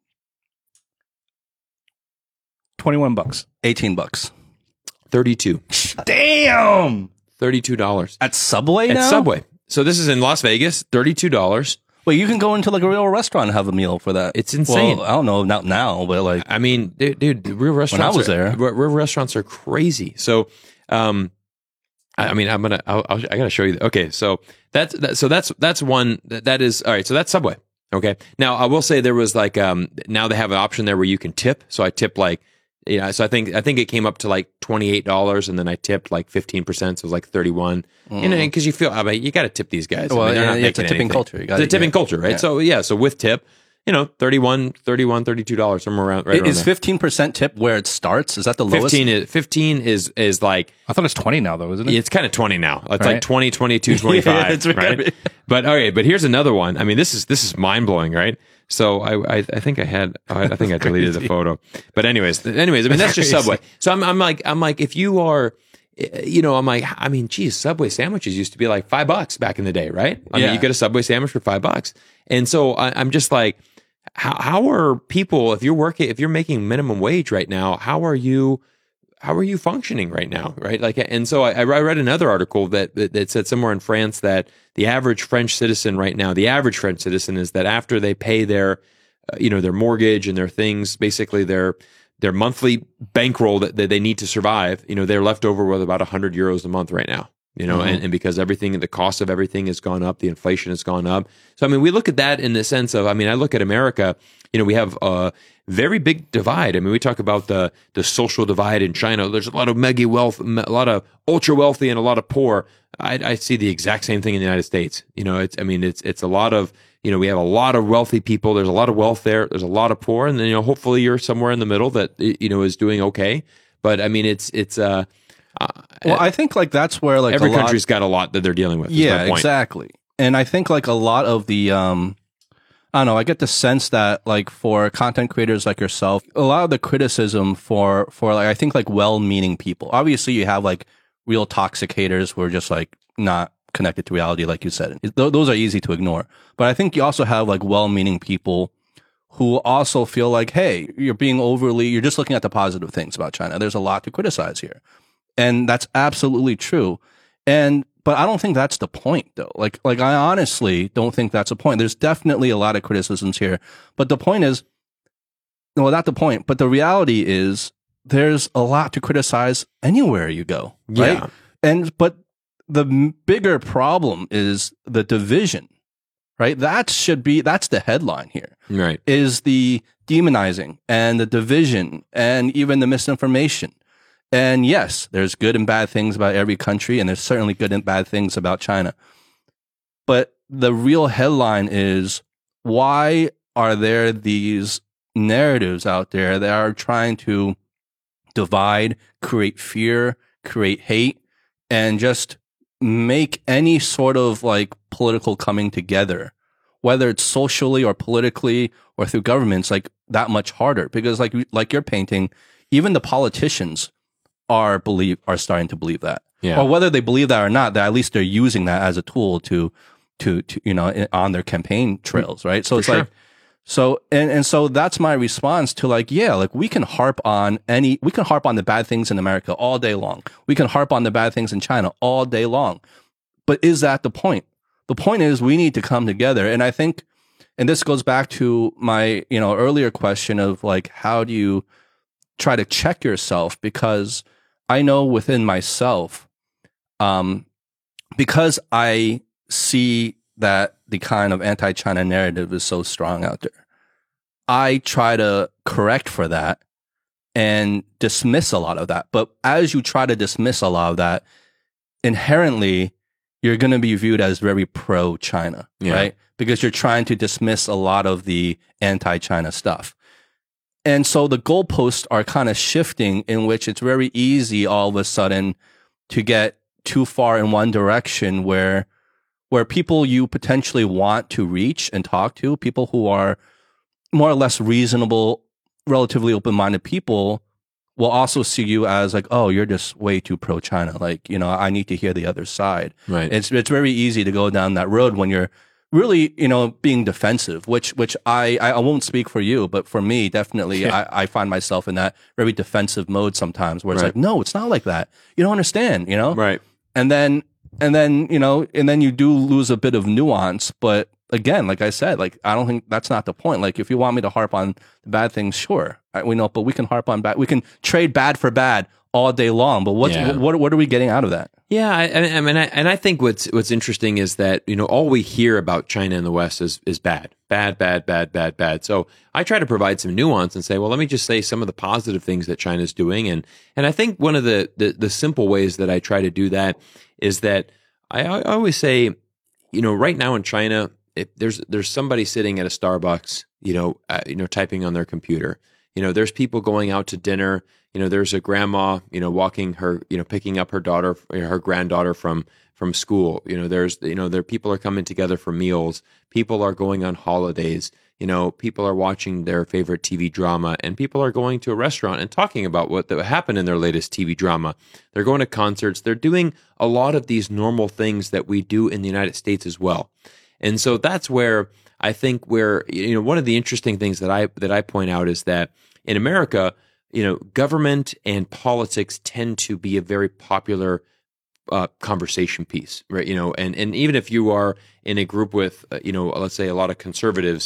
$21. $18. 32. Damn. $32 at Subway now? At Subway. So this is in Las Vegas. $32. Well, you can go into like a real restaurant and have a meal for that. It's insane. Well, I don't know, not now, but like, I mean, dude, real restaurants. When I was there, real restaurants are crazy. So, I mean, I gotta show you. Okay, so that's one that is all right. So that's Subway. Okay. Now I will say there was like now they have an option there where you can tip. So I tip like. Yeah, so I think it came up to like $28, and then I tipped like 15%, so it was like 31. Because you feel, I mean, you got to tip these guys. Well, I mean, it's a tipping culture. It's a tipping culture, right? Yeah. So with tip, $31, $32, somewhere around. Right is 15% tip where it starts? Is that the lowest? 15 is like. I thought it's 20 now, though, isn't it? It's kind of 20 now. It's like 20, 22, 25, right? But okay, but here's another one. I mean, this is mind blowing, right? So I think I had I think I deleted the photo. But anyways, I mean that's just Subway. So I'm like if you are, I'm like, I mean, geez, Subway sandwiches used to be like $5 back in the day, right? I mean, you get a Subway sandwich for $5, and so I'm just like, how are people if you're making minimum wage right now? How are you functioning right now, right? Like, and so I read another article that said somewhere in France that the average French citizen right now, is that after they pay their, their mortgage and their things, basically their monthly bankroll that they need to survive, they're left over with about €100 a month right now. And because the cost of everything has gone up, the inflation has gone up. So, I mean, we look at that in the sense of, I mean, I look at America, we have a very big divide. I mean, we talk about the social divide in China. There's a lot of mega wealth, a lot of ultra wealthy and a lot of poor. I see the exact same thing in the United States. It's a lot of, we have a lot of wealthy people. There's a lot of wealth there. There's a lot of poor. And then, hopefully you're somewhere in the middle that, is doing okay. But I mean, well, I think like that's where like every country's got a lot that they're dealing with. Yeah, exactly. And I think like a lot of the, I don't know, I get the sense that like for content creators like yourself, a lot of the criticism for like, I think like well-meaning people, obviously you have like real toxic haters who are just like not connected to reality, like you said. Those are easy to ignore. But I think you also have like well-meaning people who also feel like, hey, you're just looking at the positive things about China. There's a lot to criticize here. And that's absolutely true. But I don't think that's the point though. Like I honestly don't think that's the point. There's definitely a lot of criticisms here. But the point is, well, not the point, but the reality is there's a lot to criticize anywhere you go. Right? Yeah. But the bigger problem is the division, right? That's the headline here. Right. Is the demonizing and the division and even the misinformation. And yes, there's good and bad things about every country, and there's certainly good and bad things about China. But the real headline is, why are there these narratives out there that are trying to divide, create fear, create hate, and just make any sort of like political coming together, whether it's socially or politically or through governments, like that much harder. Because like you're painting, even the politicians are starting to believe that. Yeah. Or whether they believe that or not, that at least they're using that as a tool to on their campaign trails, right? So it's like, so that's my response to like, yeah, like we can harp on the bad things in America all day long. We can harp on the bad things in China all day long. But is that the point? The point is we need to come together. And I think, and this goes back to my, earlier question of like, how do you try to check yourself? Because I know within myself, because I see that the kind of anti-China narrative is so strong out there, I try to correct for that and dismiss a lot of that. But as you try to dismiss a lot of that, inherently, you're going to be viewed as very pro-China, right? Because you're trying to dismiss a lot of the anti-China stuff. And so the goalposts are kind of shifting, in which it's very easy all of a sudden to get too far in one direction where people you potentially want to reach and talk to, people who are more or less reasonable, relatively open-minded people, will also see you as like, oh, you're just way too pro-China. Like, I need to hear the other side. Right. It's very easy to go down that road when you're really, being defensive, which I won't speak for you, but for me, definitely, I find myself in that very defensive mode sometimes where it's like, no, it's not like that. You don't understand, Right. And then you do lose a bit of nuance. But again, like I said, like, I don't think that's not the point. Like, if you want me to harp on the bad things, sure, we know, but we can harp on bad. We can trade bad for bad all day long. But what are we getting out of that? Yeah, I think what's interesting is that all we hear about China in the West is bad. So I try to provide some nuance and say, well, let me just say some of the positive things that China's doing, and I think one of the simple ways that I try to do that is that I always say, right now in China, if there's somebody sitting at a Starbucks, typing on their computer. There's people going out to dinner. There's a grandma, walking her, picking up her daughter, her granddaughter from school. There people are coming together for meals. People are going on holidays. People are watching their favorite TV drama, and people are going to a restaurant and talking about what happened in their latest TV drama. They're going to concerts. They're doing a lot of these normal things that we do in the United States as well. And so that's where I think one of the interesting things that I point out is that in America, government and politics tend to be a very popular conversation piece, right? And even if you are in a group with, let's say a lot of conservatives,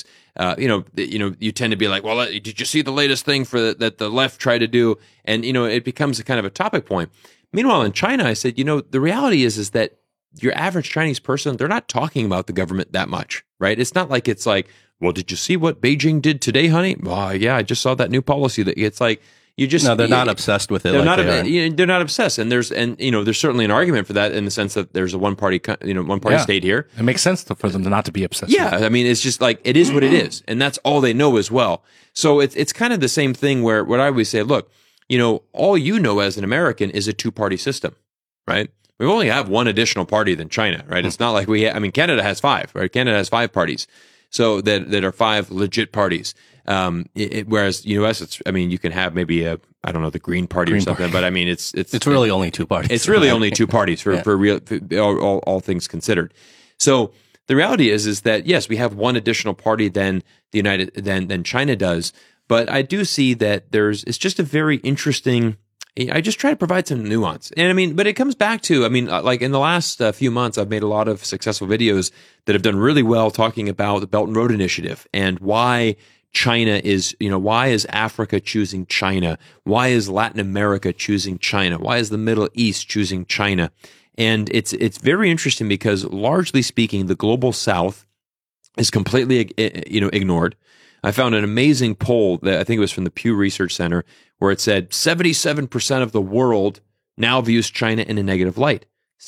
you tend to be like, well, did you see the latest thing that the left tried to do? And, it becomes a kind of a topic point. Meanwhile, in China, I said, the reality is that your average Chinese person, they're not talking about the government that much, right? It's not like it's like, well, did you see what Beijing did today, honey? Well, yeah, I just saw that new policy. That it's like they're not obsessed with it. They're not obsessed, and there's certainly an argument for that in the sense that there's a one party state here. It makes sense for them to not to be obsessed. Yeah, with it. I mean, it's just like it is what it is, and that's all they know as well. So it's kind of the same thing where what I always say, look, all as an American is a two-party system, right? We only have one additional party than China, right? It's not like Canada has 5, right? Canada has 5 parties. So that are 5 legit parties. Whereas U.S., you can have maybe the Green Party or something, but it's really only 2 parties. It's really only 2 parties for real, all things considered. So the reality is that yes, we have one additional party than than China does, but I do see that it's just a very interesting. I just try to provide some nuance. And but it comes back to, like in the last few months, I've made a lot of successful videos that have done really well talking about the Belt and Road Initiative and why China is, why is Africa choosing China? Why is Latin America choosing China? Why is the Middle East choosing China? And it's very interesting because largely speaking, the global South is completely, ignored. I found an amazing poll that I think it was from the Pew Research Center where it said 77% of the world now views China in a negative light.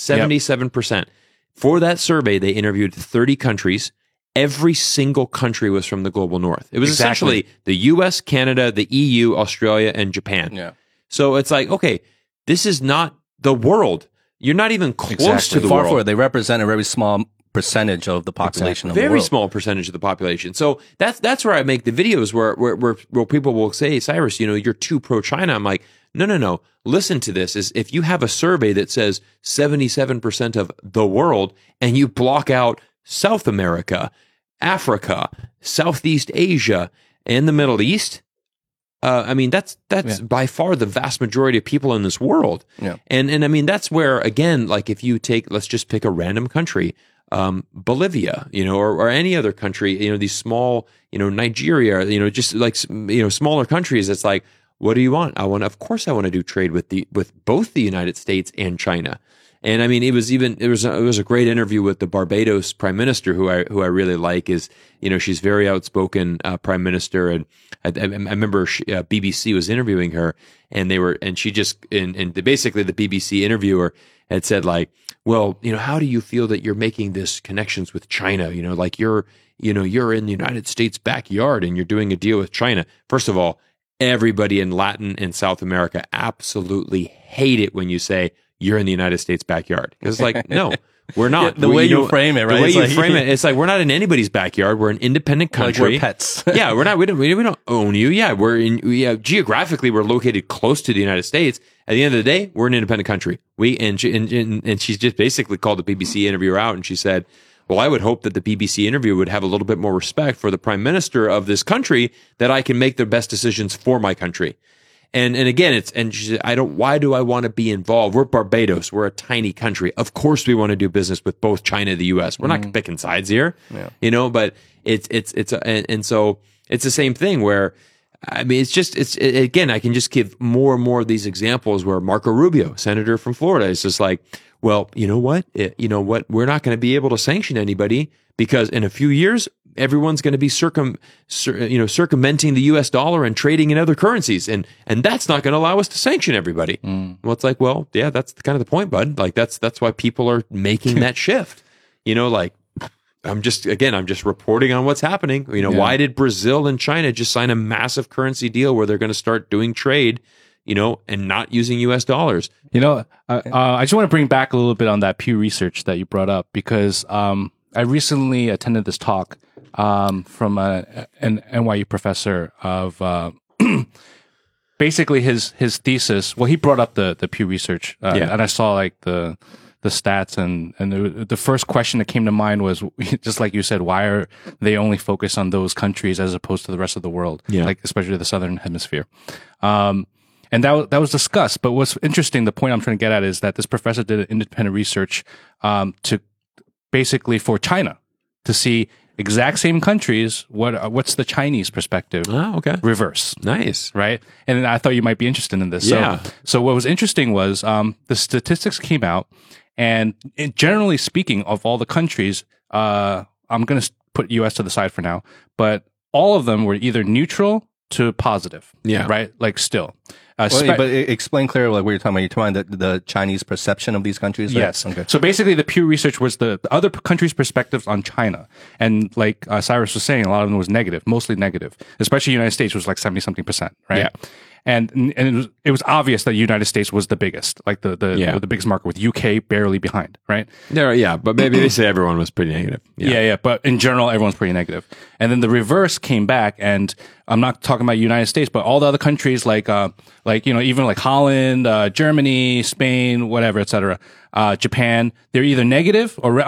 77%. Yep. For that survey, they interviewed 30 countries. Every single country was from the global north. It was essentially the US, Canada, the EU, Australia, and Japan. Yeah. So it's like, okay, this is not the world. You're not even close to the Far world. forward. They represent a very small percentage of the population of the world. Very small percentage of the population. So that's where I make the videos where people will say, Cyrus, you're too pro-China. I'm like, no. Listen to this. Is if you have a survey that says 77% of the world and you block out South America, Africa, Southeast Asia, and the Middle East, that's by far the vast majority of people in this world. Yeah. And I mean, that's where, again, like if you take, let's just pick a random country, Bolivia, or any other country, these small, Nigeria, just like, smaller countries. It's like, what do you want? Of course I want to do trade with both the United States and China. And I mean, it was a great interview with the Barbados Prime Minister, who I really like. Is she's very outspoken Prime Minister, and I remember BBC was interviewing her, and basically the BBC interviewer had said like, well, how do you feel that you're making this connections with China? Like you're in the United States backyard and you're doing a deal with China. First of all, everybody in Latin and South America absolutely hate it when you say you're in the United States backyard. Because it's like, no, we're not. The way you frame it, right? The way you frame it, it's like we're not in anybody's backyard. We're an independent country. Like we're pets. Yeah, we're not. We don't own you. Yeah, geographically we're located close to the United States. At the end of the day, we're an independent country. And she's just basically called the BBC interviewer out, and she said, well, I would hope that the BBC interviewer would have a little bit more respect for the prime minister of this country, that I can make the best decisions for my country. And again, she said, why do I want to be involved? We're Barbados. We're a tiny country. Of course we want to do business with both China and the US. We're not picking sides here, but and so it's the same thing where, I mean, again, I can just give more and more of these examples where Marco Rubio, senator from Florida, is just like, well, you know what? We're not going to be able to sanction anybody because in a few years, everyone's going to be circumventing the U.S. dollar and trading in other currencies, and that's not going to allow us to sanction everybody. Well, it's like, well, yeah, that's kind of the point, bud. Like that's why people are making that shift. Like I'm just reporting on what's happening. Why did Brazil and China just sign a massive currency deal where they're going to start doing trade, and not using U.S. dollars? I just want to bring back a little bit on that Pew Research that you brought up, because I recently attended this talk from an NYU professor of basically his thesis. Well, he brought up the Pew Research, and I saw like the stats, and the first question that came to mind was, just like you said, why are they only focused on those countries as opposed to the rest of the world, like especially the Southern Hemisphere? And that was discussed. But what's interesting, the point I'm trying to get at, is that this professor did an independent research to basically for China to see exact same countries. What's the Chinese perspective? Oh, okay. Reverse. Nice. Right. And I thought you might be interested in this. Yeah. So what was interesting was the statistics came out, and generally speaking, of all the countries, I'm going to put U.S. to the side for now, but all of them were either neutral to positive. Yeah. Right. Like still. But explain clearly like what you're talking about. You're talking about the Chinese perception of these countries, right? Yes. Okay. So basically, the Pew Research was the other countries' perspectives on China, and like Cyrus was saying, a lot of them was negative, mostly negative. Especially the United States was like 70-something%, right? Yeah. And it was obvious that the United States was the biggest, like the biggest market, with UK barely behind, right? Yeah, but maybe they say everyone was pretty negative. Yeah, but in general, everyone's pretty negative. And then the reverse came back, and I'm not talking about United States, but all the other countries like even like Holland, Germany, Spain, whatever, etc. Japan, they're either negative or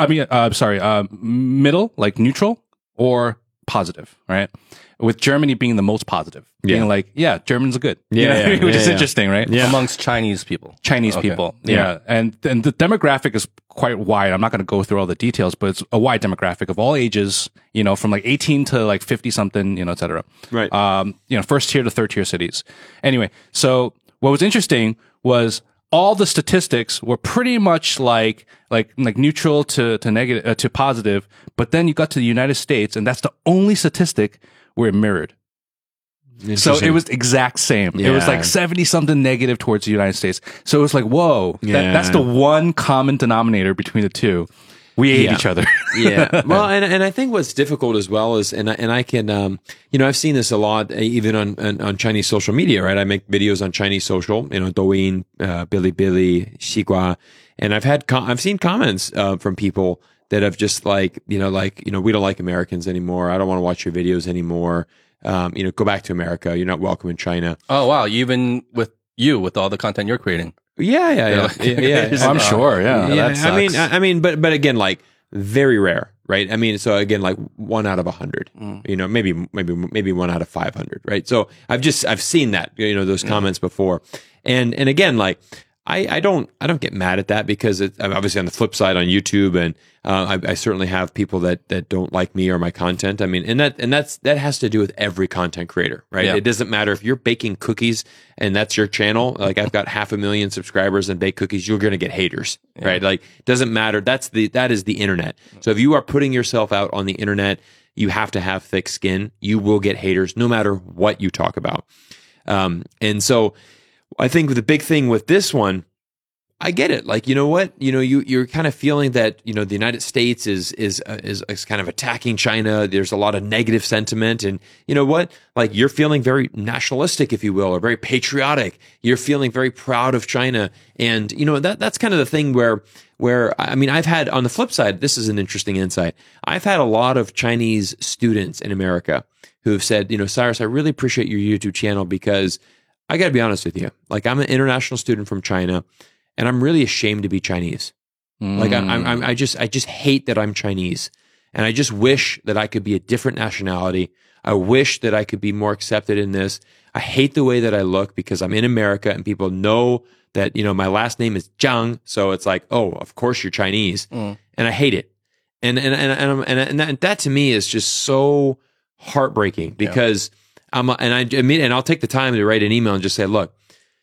middle, like neutral, or positive, right? With Germany being the most positive, being like, Germans are good, which is interesting, right? Yeah. Amongst Chinese people. People, and the demographic is quite wide. I'm not going to go through all the details, but it's a wide demographic of all ages, from like 18 to like 50 something, et cetera. Right. First tier to third tier cities. Anyway, so what was interesting was all the statistics were pretty much like neutral to negative to positive, but then you got to the United States, and that's the only statistic where it mirrored. So it was exact same. Yeah. It was like 70 something negative towards the United States. So it was like, whoa, that's the one common denominator between the two. We ate each other. Yeah. Well, and I think what's difficult as well is, and I can, I've seen this a lot, even on Chinese social media, right? I make videos on Chinese social, Douyin, Bilibili, Xigua, and I've seen comments from people that have just like, we don't like Americans anymore. I don't want to watch your videos anymore. Go back to America. You're not welcome in China. Oh, wow. Even with all the content you're creating. Yeah. I'm sure. Yeah. I mean, but again, like very rare, right? I mean, so again, like 1 out of 100, maybe 1 out of 500, right? So I've seen that, those comments before. And again, like, I don't get mad at that because I'm obviously on the flip side on YouTube, and I certainly have people that don't like me or my content. I mean, and that has to do with every content creator, right? Yeah. It doesn't matter if you're baking cookies and that's your channel. Like I've got 500,000 subscribers and bake cookies, you're going to get haters, right? Like it doesn't matter. That is the internet. So if you are putting yourself out on the internet, you have to have thick skin. You will get haters no matter what you talk about. And so I think the big thing with this one, I get it. Like, you know what? You're kind of feeling that, the United States is kind of attacking China. There's a lot of negative sentiment. And you know what? Like you're feeling very nationalistic, if you will, or very patriotic. You're feeling very proud of China. And, that's kind of the thing where I mean, I've had on the flip side, this is an interesting insight. I've had a lot of Chinese students in America who have said, Cyrus, I really appreciate your YouTube channel because I got to be honest with you. Like I'm an international student from China, and I'm really ashamed to be Chinese. Like I just hate that I'm Chinese, and I just wish that I could be a different nationality. I wish that I could be more accepted in this. I hate the way that I look because I'm in America, and people know that my last name is Zhang, so it's like, oh, of course you're Chinese, and I hate it. And that to me is just so heartbreaking because. And I'll take the time to write an email and just say, look,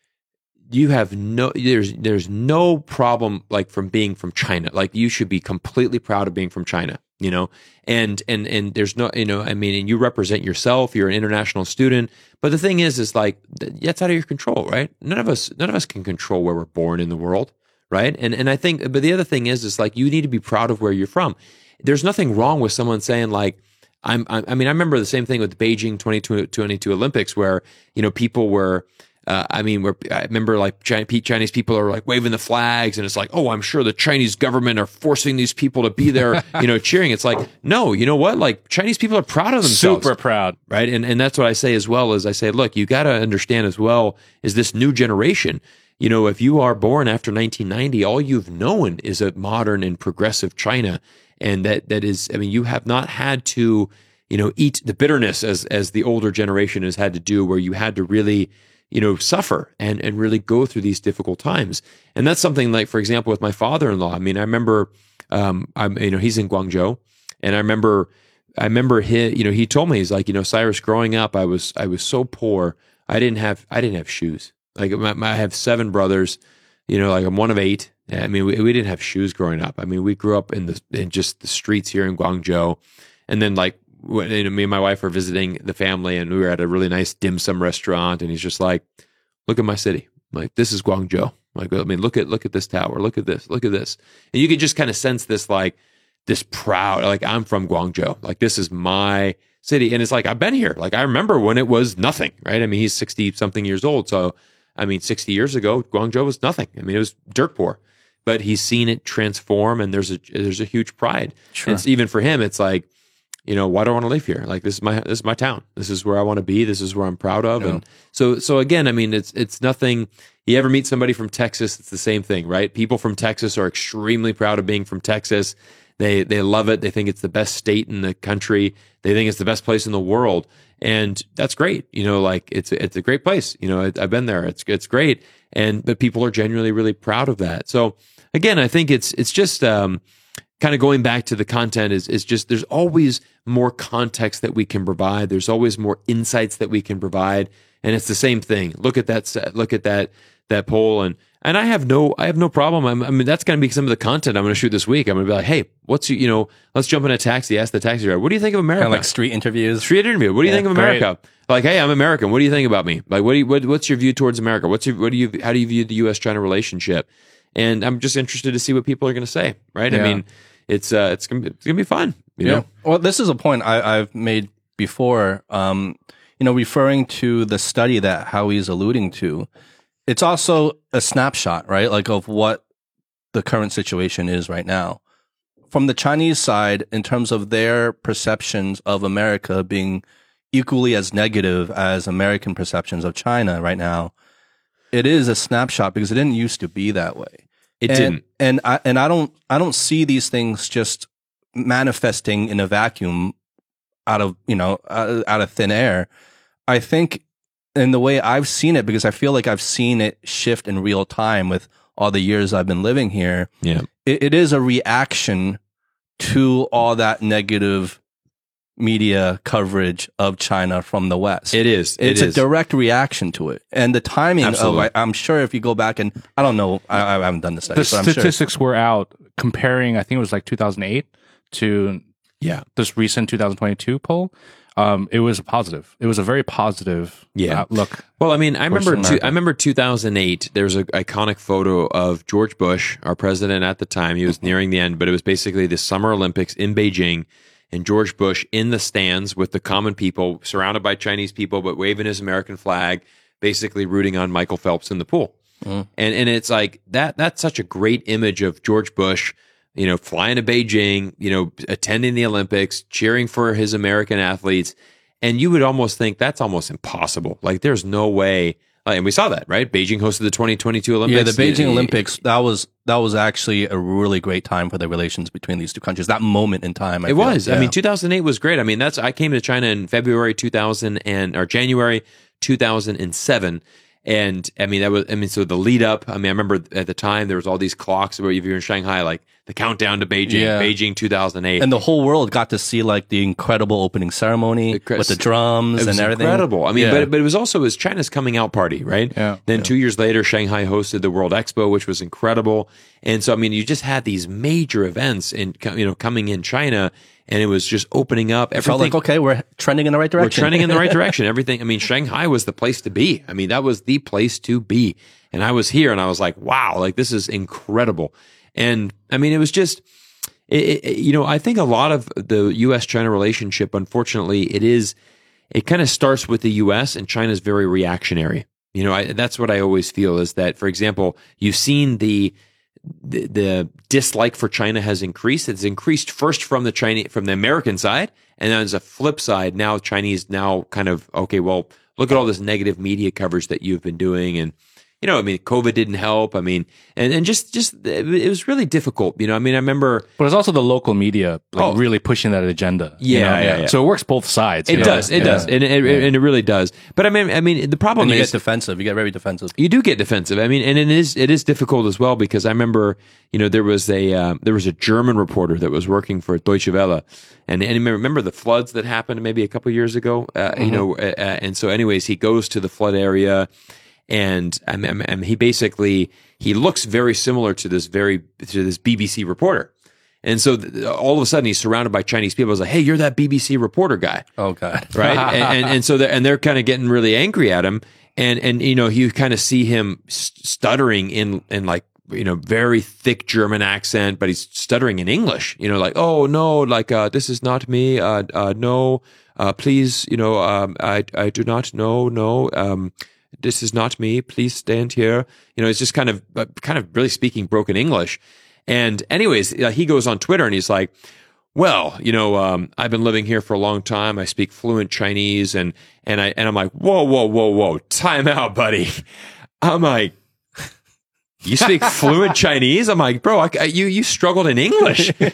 there's no problem like from being from China. Like you should be completely proud of being from China, and there's no, and you represent yourself, you're an international student. But the thing is like, that's out of your control, right? None of us can control where we're born in the world. Right. And I think, but the other thing is like, you need to be proud of where you're from. There's nothing wrong with someone saying like, I remember the same thing with the Beijing 2022 Olympics where, people were, I remember like Chinese people are like waving the flags and it's like, oh, I'm sure the Chinese government are forcing these people to be there, cheering. It's like, no, you know what? Like Chinese people are proud of themselves. Super proud. Right. And that's what I say as well as I say, look, you got to understand as well is this new generation. If you are born after 1990, all you've known is a modern and progressive China. And that is, you have not had to, eat the bitterness as the older generation has had to do, where you had to really, suffer and really go through these difficult times. And that's something like, for example, with my father-in-law. I remember, he's in Guangzhou, and I remember he told me, he's like, Cyrus, growing up, I was so poor, I didn't have shoes. Like I have 7 brothers, like I'm one of 8. We didn't have shoes growing up. We grew up in just the streets here in Guangzhou. And then like, me and my wife were visiting the family and we were at a really nice dim sum restaurant. And he's just like, look at my city. Like, this is Guangzhou. Like, look at this tower. Look at this. And you could just kind of sense this, like this proud, like I'm from Guangzhou. Like, this is my city. And it's like, I've been here. Like, I remember when it was nothing, right? He's 60 something years old. So, 60 years ago, Guangzhou was nothing. It was dirt poor. But he's seen it transform, and there's a huge pride. Sure. And even for him, it's like, why do I want to live here? Like this is my town. This is where I want to be. This is where I'm proud of. Yeah. And so again, it's nothing. You ever meet somebody from Texas? It's the same thing, right? People from Texas are extremely proud of being from Texas. They love it. They think it's the best state in the country. They think it's the best place in the world, and that's great. Like it's a great place. I've been there. It's great. But people are genuinely really proud of that. So again, I think it's just kind of going back to the content is just there's always more context that we can provide. There's always more insights that we can provide, and it's the same thing. Look at that poll, and I have no problem. That's going to be some of the content I'm going to shoot this week. I'm going to be like, hey, let's jump in a taxi, ask the taxi driver, what do you think of America? Kind of like street interviews. What do you think of America? Great. Like, hey, I'm American. What do you think about me? Like, what's your view towards America? How do you view the U.S.-China relationship? And I'm just interested to see what people are going to say, right? Yeah. it's gonna be fun. You know? Well, this is a point I've made before. Referring to the study that Howie's alluding to, it's also a snapshot, right? Like of what the current situation is right now. From the Chinese side, in terms of their perceptions of America being equally as negative as American perceptions of China right now, it is a snapshot because it didn't used to be that way. It didn't. And I don't see these things just manifesting in a vacuum out of thin air. I think in the way I've seen it, because I feel like I've seen it shift in real time with all the years I've been living here. Yeah. It is a reaction to all that negative media coverage of China from the West. It is. It's a direct reaction to it. And the timing of, I'm sure if you go back and, I don't know, I haven't done the study. The statistics were out comparing, I think it was like 2008 to this recent 2022 poll. It was a positive. It was a very positive outlook. Well, I mean, I remember 2008. There's an iconic photo of George Bush, our president at the time. He was nearing the end, but it was basically the Summer Olympics in Beijing, and George Bush in the stands with the common people, surrounded by Chinese people, but waving his American flag, basically rooting on Michael Phelps in the pool. And it's like that's such a great image of George Bush, flying to Beijing, attending the Olympics, cheering for his American athletes. And you would almost think that's almost impossible. Like there's no way. And we saw that, right? Beijing hosted the 2022 Olympics. Yeah, the Beijing Olympics, that was actually a really great time for the relations between these two countries. That moment in time. It was. I mean, 2008 was great. I mean, I came to China in January 2007. And I mean, so the lead up, I remember at the time there was all these clocks where if you're in Shanghai, like the countdown to Beijing, Beijing 2008. And the whole world got to see like the incredible opening ceremony with the drums and everything. Incredible. I mean, but it was also China's coming out party, right? Yeah. Then 2 years later, Shanghai hosted the World Expo, which was incredible. And so, I mean, you just had these major events coming in China. And it was just opening up. Everything felt like, okay, we're trending in the right direction. We're trending in the right direction. Everything. I mean, Shanghai was the place to be. I mean, that was the place to be. And I was here and I was like, wow, like this is incredible. And I mean, it was just, I think a lot of the U.S.-China relationship, unfortunately, it kind of starts with the U.S. and China's very reactionary. That's what I always feel is that, for example, you've seen the dislike for China has increased. It's increased first from the American side, and then as a flip side, now Chinese now kind of, okay, well, look at all this negative media coverage that you've been doing, and I mean, COVID didn't help. I mean, and just it was really difficult. I mean, I remember, but it's also the local media really pushing that agenda. Yeah. So it works both sides. It does, and it really does. But I mean, the problem is you get defensive. You get very defensive. You do get defensive. I mean, and it is difficult as well because I remember, there was a German reporter that was working for Deutsche Welle, and remember the floods that happened maybe a couple years ago. And so, anyways, he goes to the flood area. And he looks very similar to this BBC reporter. And so all of a sudden he's surrounded by Chinese people. I was like, hey, you're that BBC reporter guy. Oh God. Right. and so they're kind of getting really angry at him. And you kind of see him stuttering in like, very thick German accent, but he's stuttering in English, like, oh no, like, this is not me. No, please, I do not know. No, this is not me. Please stand here. It's just kind of really speaking broken English. And anyways, he goes on Twitter and he's like, well, I've been living here for a long time. I speak fluent Chinese. And I'm like, whoa. Time out, buddy. I'm like, you speak fluent Chinese? I'm like, bro, you struggled in English. and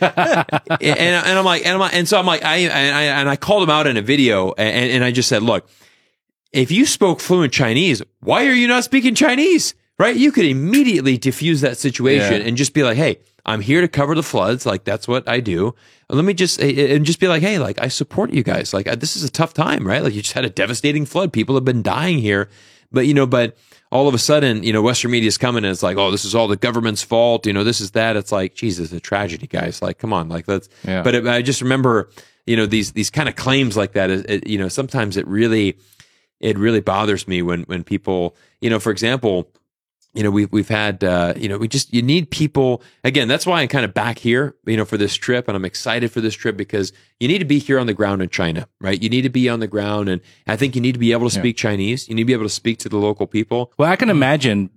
so I'm like, I called him out in a video and I just said, look, if you spoke fluent Chinese, why are you not speaking Chinese? Right? You could immediately diffuse that situation and just be like, hey, I'm here to cover the floods. Like, that's what I do. Let me just be like, hey, like, I support you guys. Like, this is a tough time, right? Like, you just had a devastating flood. People have been dying here. But all of a sudden, Western media is coming and it's like, oh, this is all the government's fault. This is that. It's like, Jesus, a tragedy, guys. Like, come on. Like, let's, but I just remember, these kind of claims like that, sometimes it really bothers me when people, for example, we've had, you need people. Again, that's why I'm kind of back here, for this trip, and I'm excited for this trip because you need to be here on the ground in China, right? You need to be on the ground, and I think you need to be able to speak Chinese. You need to be able to speak to the local people. Well, I can imagine.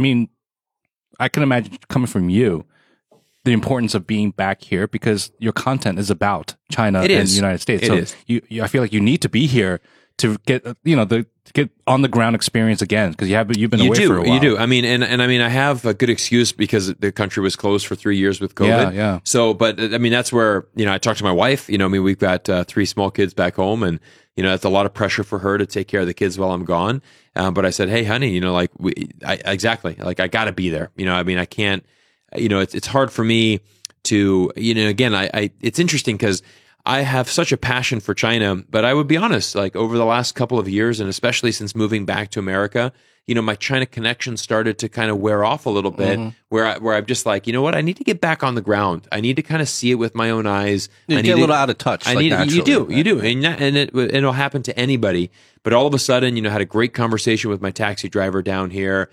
I can imagine coming from you, the importance of being back here because your content is about China and the United States. I feel like you need to be here to get get on the ground experience again because you've been away for a while. You do. I mean, and I have a good excuse because the country was closed for 3 years with COVID. Yeah. So, but I mean, that's where I talked to my wife. We've got 3 small kids back home, and that's a lot of pressure for her to take care of the kids while I'm gone. But I said, hey, honey, exactly, like I got to be there. I can't. It's hard for me to. Again, it's interesting because I have such a passion for China, but I would be honest, like over the last couple of years, and especially since moving back to America, my China connection started to kind of wear off a little bit, where I'm just like, what, I need to get back on the ground. I need to kind of see it with my own eyes. You get a little out of touch. You do, and it'll happen to anybody. But all of a sudden, had a great conversation with my taxi driver down here.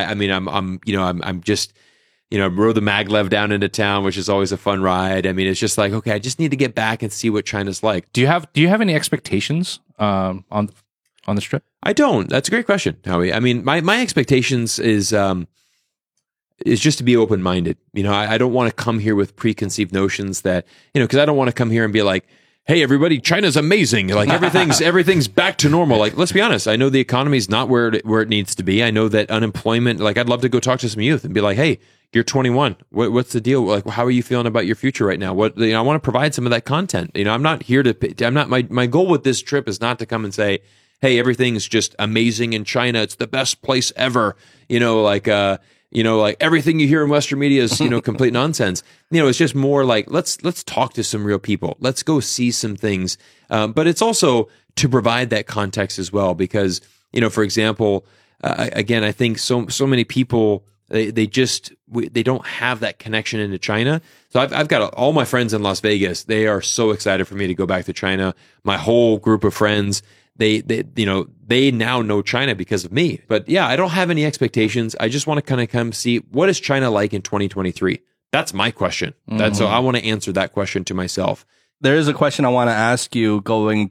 I'm just. Rode the maglev down into town, which is always a fun ride. I mean, it's just like, okay, I just need to get back and see what China's like. Do you have any expectations on this trip? I don't. That's a great question, Howie. I mean, my expectations is just to be open minded. I don't want to come here with preconceived notions that because I don't want to come here and be like, hey, everybody, China's amazing. Like everything's back to normal. Like, let's be honest. I know the economy's not where it needs to be. I know that unemployment. Like, I'd love to go talk to some youth and be like, hey, you're 21. What's the deal? Like, how are you feeling about your future right now? I want to provide some of that content. I'm not here to. I'm not. My goal with this trip is not to come and say, hey, everything's just amazing in China. It's the best place ever. Like everything you hear in Western media is, complete nonsense. It's just more like, let's talk to some real people. Let's go see some things. But it's also to provide that context as well, because, for example, again, I think so many people, they don't have that connection into China. So I've got all my friends in Las Vegas. They are so excited for me to go back to China. My whole group of friends, they now know China because of me. But yeah, I don't have any expectations. I just want to kind of come see what is China like in 2023. That's my question. So I want to answer that question to myself. There is a question I want to ask you going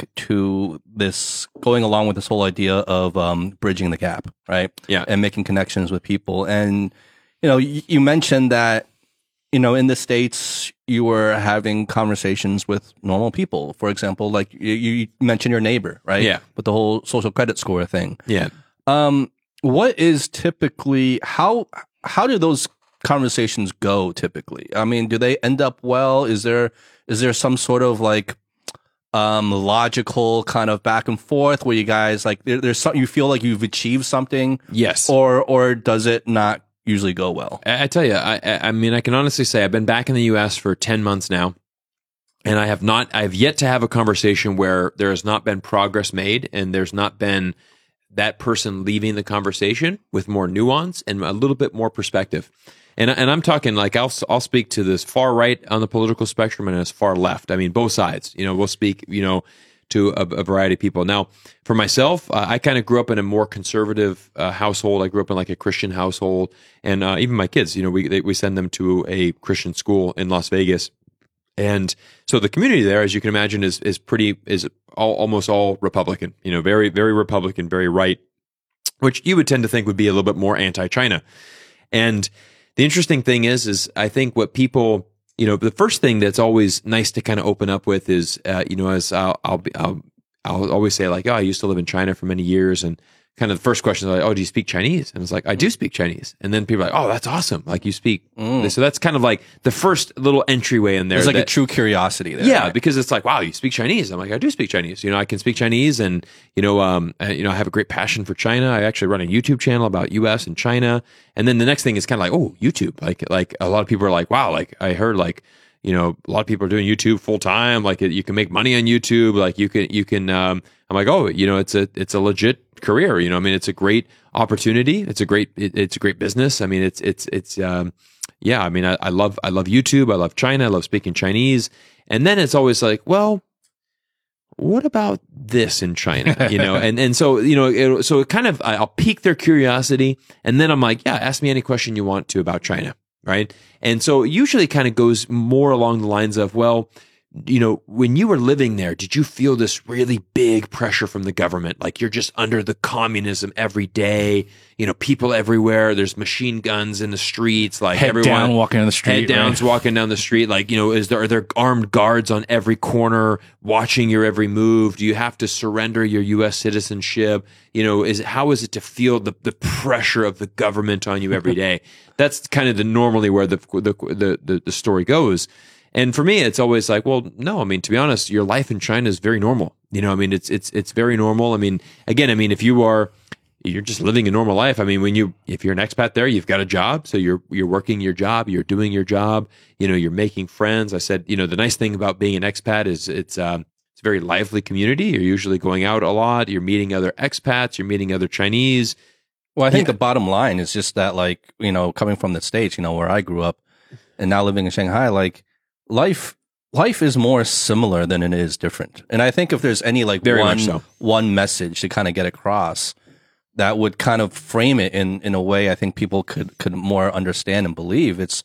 along with this whole idea of bridging the gap, right? Yeah. And making connections with people. And, you mentioned that, in the States, you were having conversations with normal people. For example, like you mentioned your neighbor, right? Yeah. With the whole social credit score thing. Yeah. What is typically, how do those conversations go typically? I mean, do they end up well? Is there some sort of like logical kind of back and forth where you guys like there's something you feel like you've achieved something? Yes. Or does it not usually go well? I tell you, I mean, I can honestly say I've been back in the U.S. for 10 months now, and I've yet to have a conversation where there has not been progress made and there's not been that person leaving the conversation with more nuance and a little bit more perspective. And I'm talking like I'll speak to this far right on the political spectrum and as far left. I mean, both sides. We'll speak. To a variety of people. Now, for myself, I kind of grew up in a more conservative household. I grew up in like a Christian household, and even my kids. We send them to a Christian school in Las Vegas, and so the community there, as you can imagine, is almost all Republican. Very very Republican, very right, which you would tend to think would be a little bit more anti-China. And the interesting thing is I think what people, the first thing that's always nice to kind of open up with is, as I'll always say like, oh, I used to live in China for many years, and kind of the first question is like, oh, do you speak Chinese? And it's like, I do speak Chinese. And then people are like, oh, that's awesome. Like you speak. So that's kind of like the first little entryway in there. There's like a true curiosity there. Yeah, right? because it's like, wow, you speak Chinese. I'm like, I do speak Chinese. I can speak Chinese, and I have a great passion for China. I actually run a YouTube channel about U.S. and China. And then the next thing is kind of like, oh, YouTube. Like a lot of people are like, wow, like I heard like, a lot of people are doing YouTube full time. Like you can make money on YouTube. Like you can. I'm like, oh, it's a legit career. I mean, it's a great opportunity. It's a great business. I mean, yeah. I mean, I love YouTube. I love China. I love speaking Chinese. And then it's always like, well, what about this in China? You know, and so, you know, so it kind of, I'll pique their curiosity. And then I'm like, yeah, ask me any question you want to about China. Right. And so it usually kind of goes more along the lines of, well, you know, when you were living there, did you feel this really big pressure from the government? Like you're just under the communism every day, you know, people everywhere. There's machine guns in the streets, like head everyone down walking down the street. Head downs walking down the street. Like, you know, are there armed guards on every corner watching your every move? Do you have to surrender your U.S. citizenship? You know, how is it to feel the pressure of the government on you every day? That's kind of normally where the story goes. And for me, it's always like, well, no, I mean, to be honest, your life in China is very normal. You know, I mean, it's very normal. I mean, again, I mean, if you're just living a normal life. I mean, if you're an expat there, you've got a job. So you're working your job, you're doing your job, you know, you're making friends. I said, you know, the nice thing about being an expat is it's a very lively community. You're usually going out a lot. You're meeting other expats, you're meeting other Chinese. Well, I think the bottom line is just that, like, you know, coming from the States, you know, where I grew up and now living in Shanghai, like, life is more similar than it is different. And I think if there's any like one message to kind of get across that would kind of frame it in a way I think people could more understand and believe, it's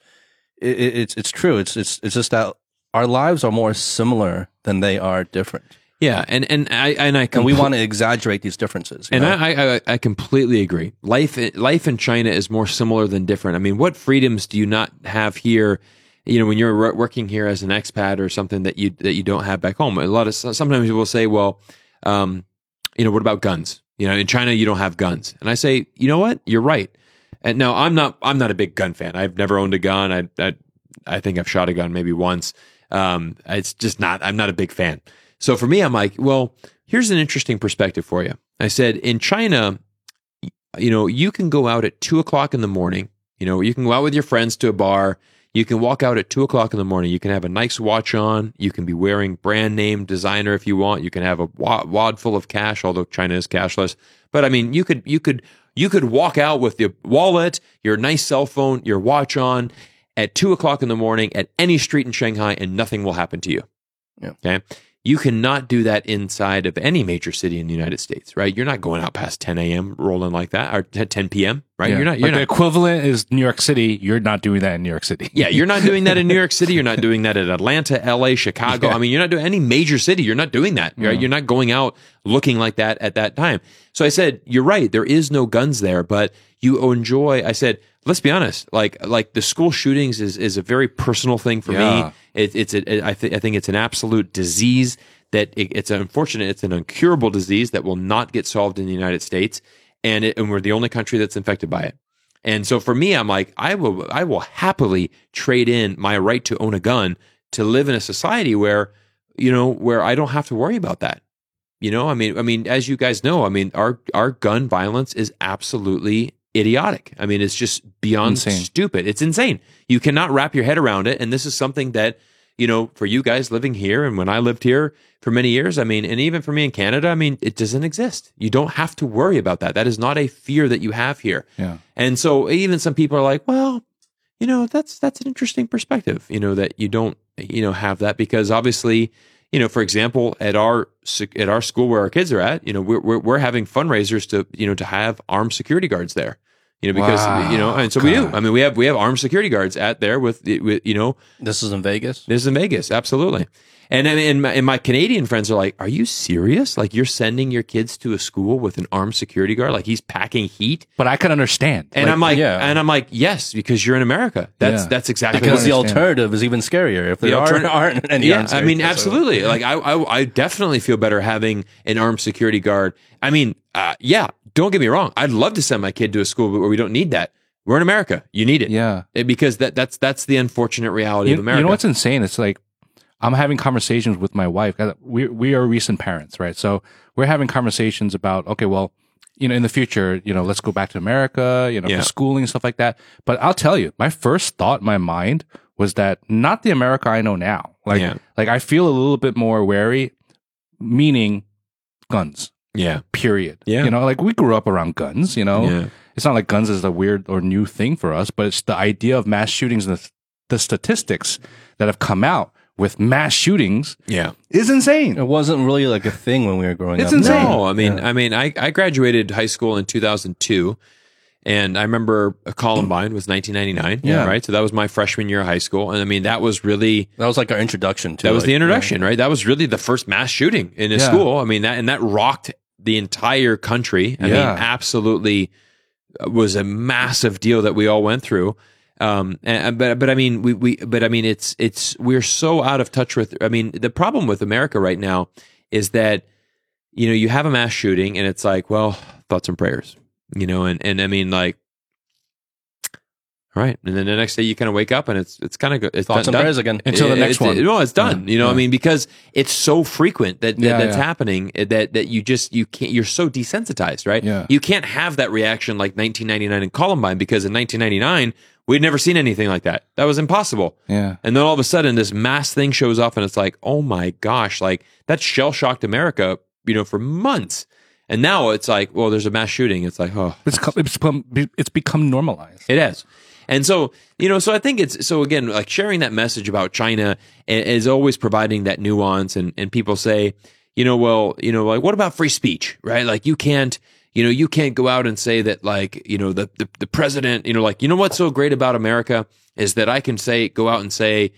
true. It's just that our lives are more similar than they are different. Yeah, and we want to exaggerate these differences. And I completely agree. Life in China is more similar than different. I mean, what freedoms do you not have here? You know, when you're working here as an expat or something that you don't have back home. Sometimes people will say, well, you know, what about guns? You know, in China you don't have guns, and I say, you know what, you're right. And no, I'm not a big gun fan. I've never owned a gun. I think I've shot a gun maybe once. It's just not. I'm not a big fan. So for me, I'm like, well, here's an interesting perspective for you. I said, in China, you know, you can go out at 2:00 in the morning. You know, you can go out with your friends to a bar. You can walk out at 2:00 in the morning. You can have a nice watch on. You can be wearing brand name designer if you want. You can have a wad full of cash, although China is cashless. But I mean, you could walk out with your wallet, your nice cell phone, your watch on at 2:00 in the morning at any street in Shanghai, and nothing will happen to you. Yeah. Okay. You cannot do that inside of any major city in the United States, right? You're not going out past 10 a.m. rolling like that, or 10 p.m., right? Yeah. You're not. The equivalent is New York City. You're not doing that in New York City. Yeah, you're not doing that in New York City. You're not doing that in Atlanta, L.A., Chicago. Yeah. I mean, you're not doing any major city. You're not doing that, right? You're not going out looking like that at that time. So I said, you're right. There is no guns there, but you enjoy. I said, let's be honest. Like the school shootings is a very personal thing for me. I think it's an absolute disease. That it's unfortunate, it's an incurable disease that will not get solved in the United States, and we're the only country that's infected by it. And so for me, I'm like, I will happily trade in my right to own a gun to live in a society where, you know, where I don't have to worry about that. You know, I mean, as you guys know, I mean, our gun violence is absolutely idiotic. I mean, it's just beyond stupid. It's insane. You cannot wrap your head around it, and this is something that, you know, for you guys living here and when I lived here for many years, I mean, and even for me in Canada, I mean, it doesn't exist. You don't have to worry about that. That is not a fear that you have here. Yeah. And so even some people are like, well, you know, that's an interesting perspective, you know, that you don't, you know, have that, because obviously, you know, for example, at our school where our kids are at, you know, we're having fundraisers to, you know, to have armed security guards there. You know, because, you know, and so we do. I mean, we have armed security guards at there with, you know. This is in Vegas? This is in Vegas, absolutely. And my Canadian friends are like, are you serious? Like, you're sending your kids to a school with an armed security guard? Like, he's packing heat? But I can understand. And I'm like, yes, because you're in America. That's exactly because the alternative is even scarier if there aren't any armed security. I mean, absolutely. Like, I definitely feel better having an armed security guard. I mean, yeah. Don't get me wrong. I'd love to send my kid to a school where we don't need that. We're in America. You need it. Yeah. Because that's the unfortunate reality of America. You know what's insane? It's like, I'm having conversations with my wife. We are recent parents, right? So we're having conversations about, okay, well, you know, in the future, you know, let's go back to America, you know, for schooling and stuff like that. But I'll tell you, my first thought in my mind was that not the America I know now. Like I feel a little bit more wary, meaning guns. Yeah. Period. Yeah. You know, like we grew up around guns, you know. Yeah. It's not like guns is a weird or new thing for us, but it's the idea of mass shootings and the statistics that have come out with mass shootings Yeah. is insane. It wasn't really like a thing when we were growing up. It's insane. No, I graduated high school in 2002, and I remember Columbine was 1999. Yeah. Right. So that was my freshman year of high school, and I mean that was really That was like our introduction to that was like, the introduction, right? That was really the first mass shooting in a school. I mean that rocked the entire country. I mean, absolutely was a massive deal that we all went through. But I mean, we're so out of touch with. I mean, the problem with America right now is that you have a mass shooting, and it's like, well, thoughts and prayers, and I mean, like, right, and then the next day you kind of wake up, and it's kind of good. It's thoughts and prayers again until the next one. No, it's done. I mean, because it's so frequent that's happening that you can't. You're so desensitized, right? Yeah. You can't have that reaction like 1999 in Columbine, because in 1999. We'd never seen anything like that. That was impossible. Yeah. And then all of a sudden, this mass thing shows up, and it's like, oh my gosh, like that shell shocked America, for months. And now it's like, well, there's a mass shooting. It's like, oh, it's become normalized. it has. And so, so I think again, like sharing that message about China is always providing that nuance. And people say, like, what about free speech, right? Like you can't go out and say that, like, the president, what's so great about America is that I can go out and say,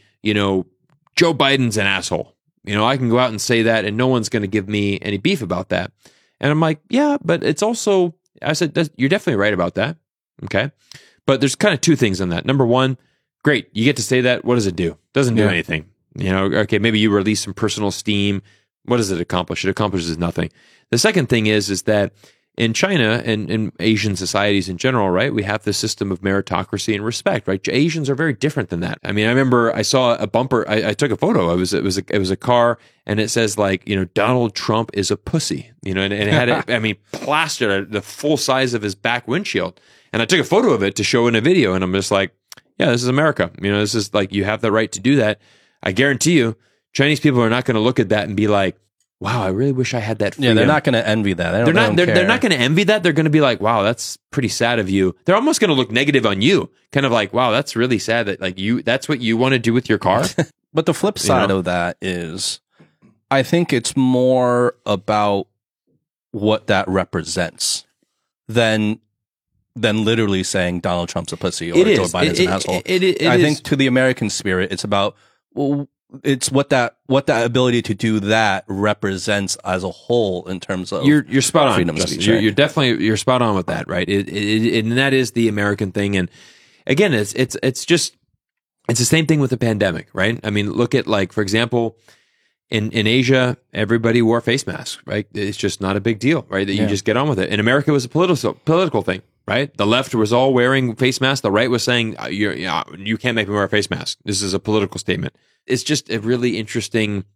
Joe Biden's an asshole. I can go out and say that, and no one's going to give me any beef about that. And I'm like, yeah, but it's also, I said, you're definitely right about that. Okay. But there's kind of two things on that. Number one, great. You get to say that. What does it do? Doesn't do anything. Okay, maybe you release some personal steam. What does it accomplish? It accomplishes nothing. The second thing is that in China and in Asian societies in general, right, we have this system of meritocracy and respect, right? Asians are very different than that. I mean, I remember I saw a bumper. I took a photo. It was a car, and it says like, Donald Trump is a pussy, and it had it, plastered at the full size of his back windshield. And I took a photo of it to show in a video, and I'm just like, yeah, this is America. This is like, you have the right to do that. I guarantee you, Chinese people are not going to look at that and be like, wow, I really wish I had that freedom. Yeah, they're not going to envy that. They're not going to envy that. They're going to be like, wow, that's pretty sad of you. They're almost going to look negative on you. Kind of like, wow, that's really sad that like that's what you want to do with your car. But the flip side of that is, I think it's more about what that represents than literally saying Donald Trump's a pussy or Joe Biden's an asshole. I think to the American spirit, it's about, well, it's what that ability to do that represents as a whole in terms of you're spot on. Freedom of speech, you're spot on with that, right? And that is the American thing. And again, it's the same thing with the pandemic, right? I mean, look at, like, for example, in Asia, everybody wore face masks, right? It's just not a big deal, right? That you just get on with it. In America, it was a political thing, right? The left was all wearing face masks. The right was saying, you can't make me wear a face mask. This is a political statement. It's just a really interesting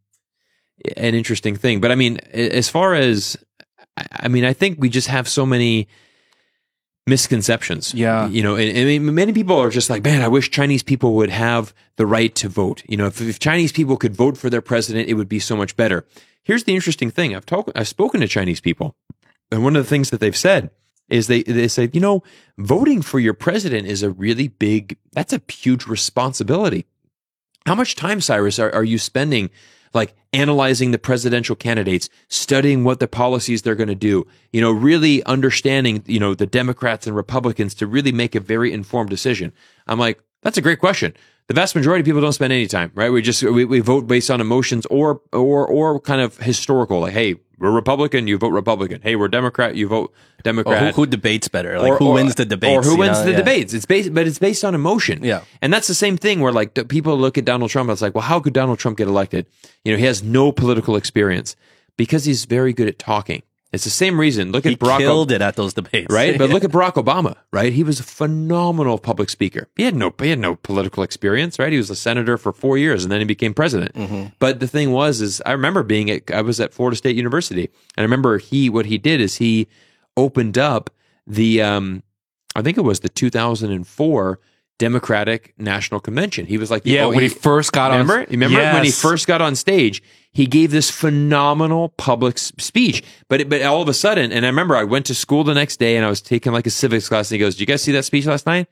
thing. But I mean, as far as, I think we just have so many misconceptions. Yeah. And many people are just like, man, I wish Chinese people would have the right to vote. If Chinese people could vote for their president, it would be so much better. Here's the interesting thing. I've spoken to Chinese people, and one of the things that they've said is they say, voting for your president is that's a huge responsibility. How much time, Cyrus, are you spending like analyzing the presidential candidates, studying what the policies they're going to do, really understanding, the Democrats and Republicans to really make a very informed decision? I'm like, that's a great question. The vast majority of people don't spend any time, right? We vote based on emotions or kind of historical, like, hey, we're Republican, you vote Republican. Hey, we're Democrat, you vote Democrat. Or who debates better? Like, who wins the debates? Or who wins the debates? It's based on emotion. Yeah. And that's the same thing where, like, people look at Donald Trump and it's like, well, how could Donald Trump get elected? He has no political experience because he's very good at talking. It's the same reason. Look at Barack Obama. He killed it at those debates. Right? But look at Barack Obama, right? He was a phenomenal public speaker. He had no political experience, right? He was a senator for 4 years and then he became president. Mm-hmm. But the thing was I remember I was at Florida State University, and I remember what he did is he opened up the, I think it was the 2004 Democratic National Convention. He was like, when he first got on. Remember when he first got on stage? He gave this phenomenal public speech, but all of a sudden, and I remember I went to school the next day and I was taking like a civics class, and he goes, "Did you guys see that speech last night?"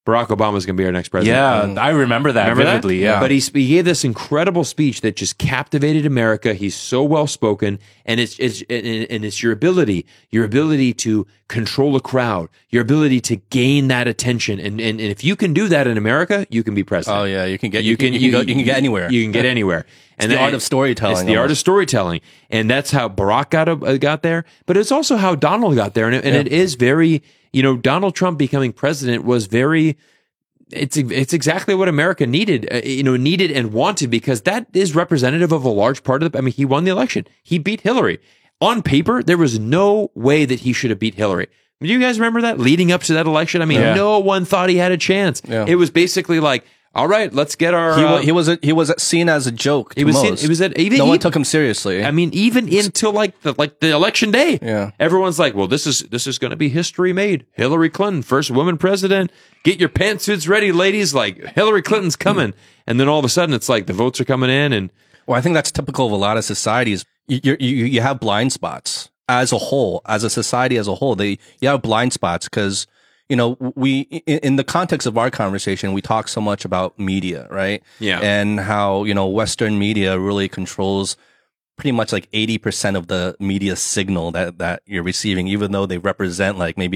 Barack Obama is going to be our next president. Yeah, I remember that vividly. Yeah, but he gave this incredible speech that just captivated America. He's so well spoken, and it's your ability to control a crowd, your ability to gain that attention, and if you can do that in America, you can be president. Oh yeah, you can get anywhere. You can get anywhere. And the art of storytelling. It's the art of storytelling, and that's how Barack got there. But it's also how Donald got there, and it is very. Donald Trump becoming president was very. It's exactly what America needed, needed and wanted, because that is representative of a large part of he won the election. He beat Hillary. On paper, there was no way that he should have beat Hillary. Do you guys remember that leading up to that election? No one thought he had a chance. Yeah. It was basically like, all right, let's get our. He was seen as a joke. No one took him seriously. Even until the election day. Yeah. Everyone's like, well, this is going to be history made. Hillary Clinton, first woman president. Get your pantsuits ready, ladies. Like Hillary Clinton's coming, and then all of a sudden it's like the votes are coming in, and I think that's typical of a lot of societies. You have blind spots as a whole, as a society as a whole. You have blind spots because. We, in the context of our conversation, we talk so much about media, right? Yeah. And how, Western media really controls pretty much like 80% of the media signal that you're receiving, even though they represent maybe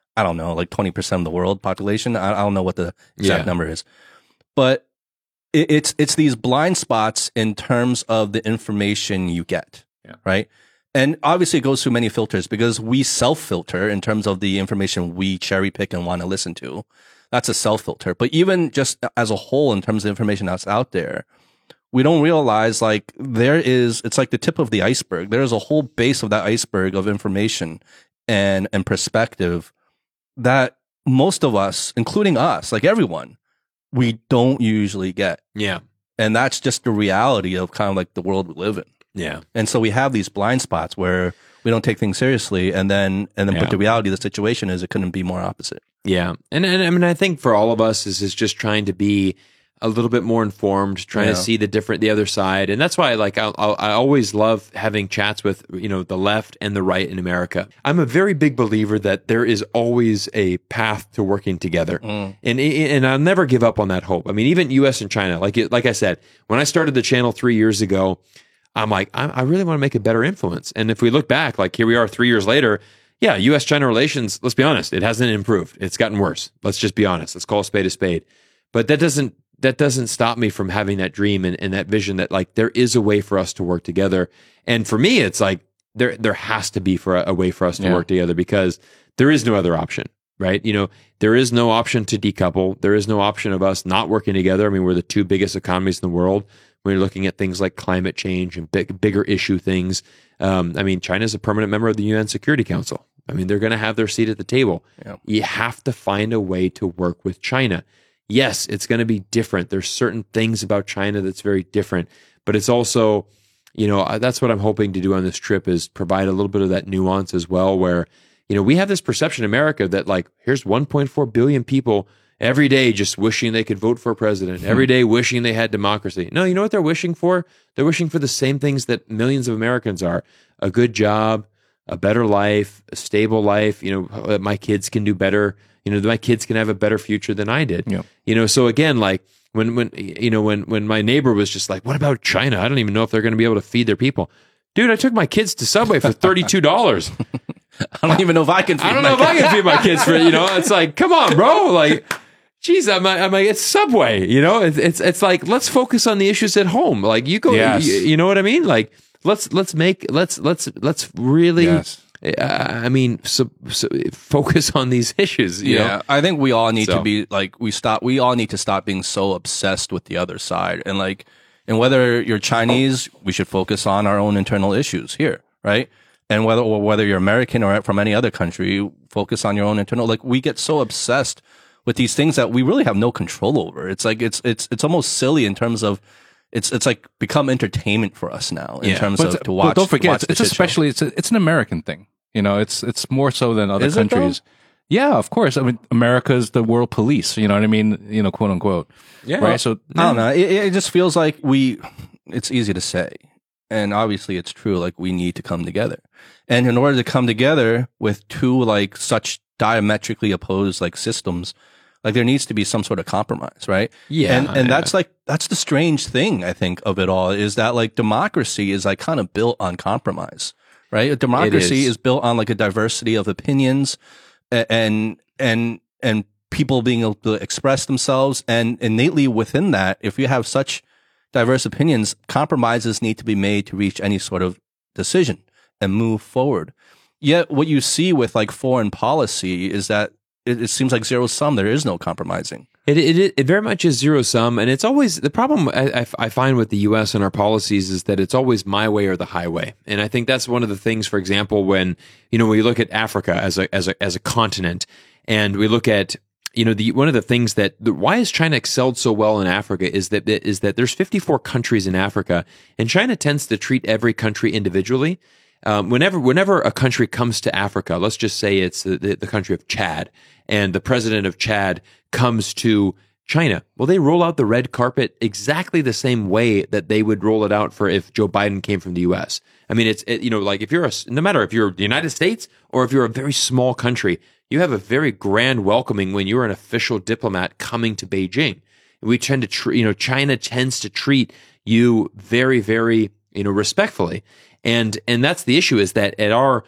20% of the world population. I don't know what the exact number is, but it's these blind spots in terms of the information you get, right? And obviously it goes through many filters because we self-filter in terms of the information we cherry pick and want to listen to. That's a self-filter. But even just as a whole, in terms of information that's out there, we don't realize it's like the tip of the iceberg. There's a whole base of that iceberg of information and perspective that most of us, including us, like everyone, we don't usually get. Yeah. And that's just the reality of kind of like the world we live in. Yeah. And so we have these blind spots where we don't take things seriously, but the reality of the situation is it couldn't be more opposite. Yeah. And I think for all of us is just trying to be a little bit more informed, trying to see the other side. And that's why I always love having chats with, the left and the right in America. I'm a very big believer that there is always a path to working together. And I'll never give up on that hope. Even US and China, like I said, when I started the channel 3 years ago, I'm like, I really want to make a better influence. And if we look back, here we are 3 years later, U.S.-China relations, let's be honest, it hasn't improved. It's gotten worse. Let's just be honest. Let's call a spade a spade. But that doesn't stop me from having that dream and that vision that there is a way for us to work together. And for me, it's like there has to be a way for us to work together, because there is no other option, right? There is no option to decouple. There is no option of us not working together. We're the two biggest economies in the world. When you're looking at things like climate change and bigger issue things. China is a permanent member of the UN Security Council. They're going to have their seat at the table. Yeah. You have to find a way to work with China. Yes, it's going to be different. There's certain things about China that's very different, but it's also, that's what I'm hoping to do on this trip, is provide a little bit of that nuance as well, where, we have this perception in America that here's 1.4 billion people every day just wishing they could vote for a president, every day wishing they had democracy. No, you know what they're wishing for? They're wishing for the same things that millions of Americans are: a good job, a better life, a stable life, that my kids can do better, that my kids can have a better future than I did. Yeah. So again, when my neighbor was just like, what about China? I don't even know if they're going to be able to feed their people. Dude, I took my kids to Subway for $32. I don't even know if I can feed my kids for, it's like, come on, bro. Geez, I'm like, it's Subway, it's like, let's focus on the issues at home. You go, you know what I mean? Let's really, focus on these issues. You know? I think we all need to be we all need to stop being so obsessed with the other side. And whether you're Chinese, we should focus on our own internal issues here, right? And whether you're American or from any other country, focus on your own internal. We get so obsessed with these things that we really have no control over. It's it's almost silly in terms of it's become entertainment for us now in terms of to watch. But don't forget, it's an American thing. It's more so than other countries. Yeah, of course. America's the world police. You know what I mean? Quote unquote. Yeah. Right. So I don't know. It just feels like it's easy to say, and obviously it's true. We need to come together, and in order to come together with two such diametrically opposed systems, Like there needs to be some sort of compromise, right? Yeah. And that's the strange thing, I think, of it all is that like democracy is like kind of built on compromise, right? A democracy is built on like a diversity of opinions and people being able to express themselves. And innately within that, if you have such diverse opinions, compromises need to be made to reach any sort of decision and move forward. Yet what you see with like foreign policy is that it seems like zero sum. There is no compromising. It very much is zero sum, and it's always the problem I find with the U.S. and our policies is that it's always my way or the highway, and I think that's one of the things. For example, when we look at Africa as a continent, and we look at one of the things why has China excelled so well in Africa is that there's 54 countries in Africa, and China tends to treat every country individually. Whenever a country comes to Africa, let's just say it's the country of Chad, and the president of Chad comes to China. Well, they roll out the red carpet exactly the same way that they would roll it out for if Joe Biden came from the U.S. I mean, like if no matter if you're the United States or if you're a very small country, you have a very grand welcoming when you're an official diplomat coming to Beijing. We tend to China tends to treat you very, very, respectfully. And that's the issue is that at our,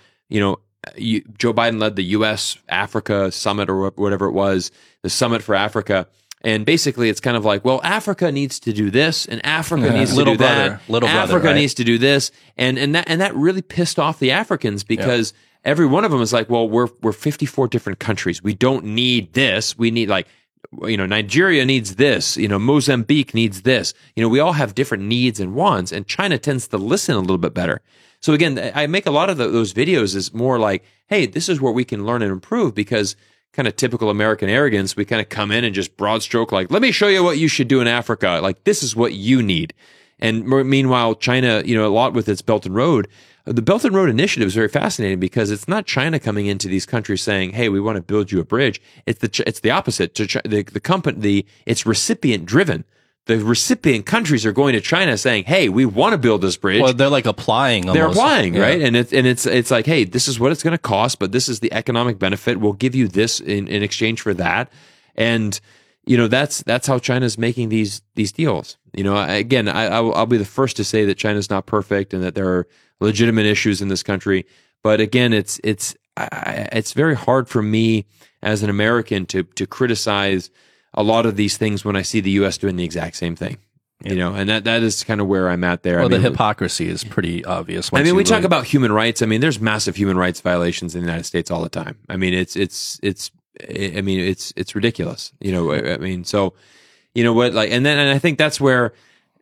Joe Biden led the U.S. Africa summit or whatever it was, the summit for Africa. And basically it's kind of like, well, Africa needs to do this and Africa needs to do that. Africa needs to do this. And that really pissed off the Africans because every one of them is like, well, we're 54 different countries. We don't need this. We need Nigeria needs this, Mozambique needs this. We all have different needs and wants, and China tends to listen a little bit better. So again, I make a lot of those videos is more like, hey, this is where we can learn and improve because kind of typical American arrogance, we kind of come in and just broad stroke, like, let me show you what you should do in Africa. Like, this is what you need. And meanwhile, China, a lot with its Belt and Road, the Belt and Road Initiative is very fascinating because it's not China coming into these countries saying, "Hey, we want to build you a bridge." It's the opposite. The company, it's recipient driven. The recipient countries are going to China saying, "Hey, we want to build this bridge." Well, they're like applying. Almost. They're applying, right? And it's like, "Hey, this is what it's going to cost, but this is the economic benefit. We'll give you this in exchange for that." And that's how China's making these deals. Again, I'll be the first to say that China's not perfect and that there are legitimate issues in this country. But again, it's very hard for me as an American to criticize a lot of these things when I see the U.S. doing the exact same thing. Yeah. And that is kind of where I'm at there. Well, the hypocrisy is pretty obvious. We talk about human rights. There's massive human rights violations in the United States all the time. It's ridiculous. So, and I think that's where,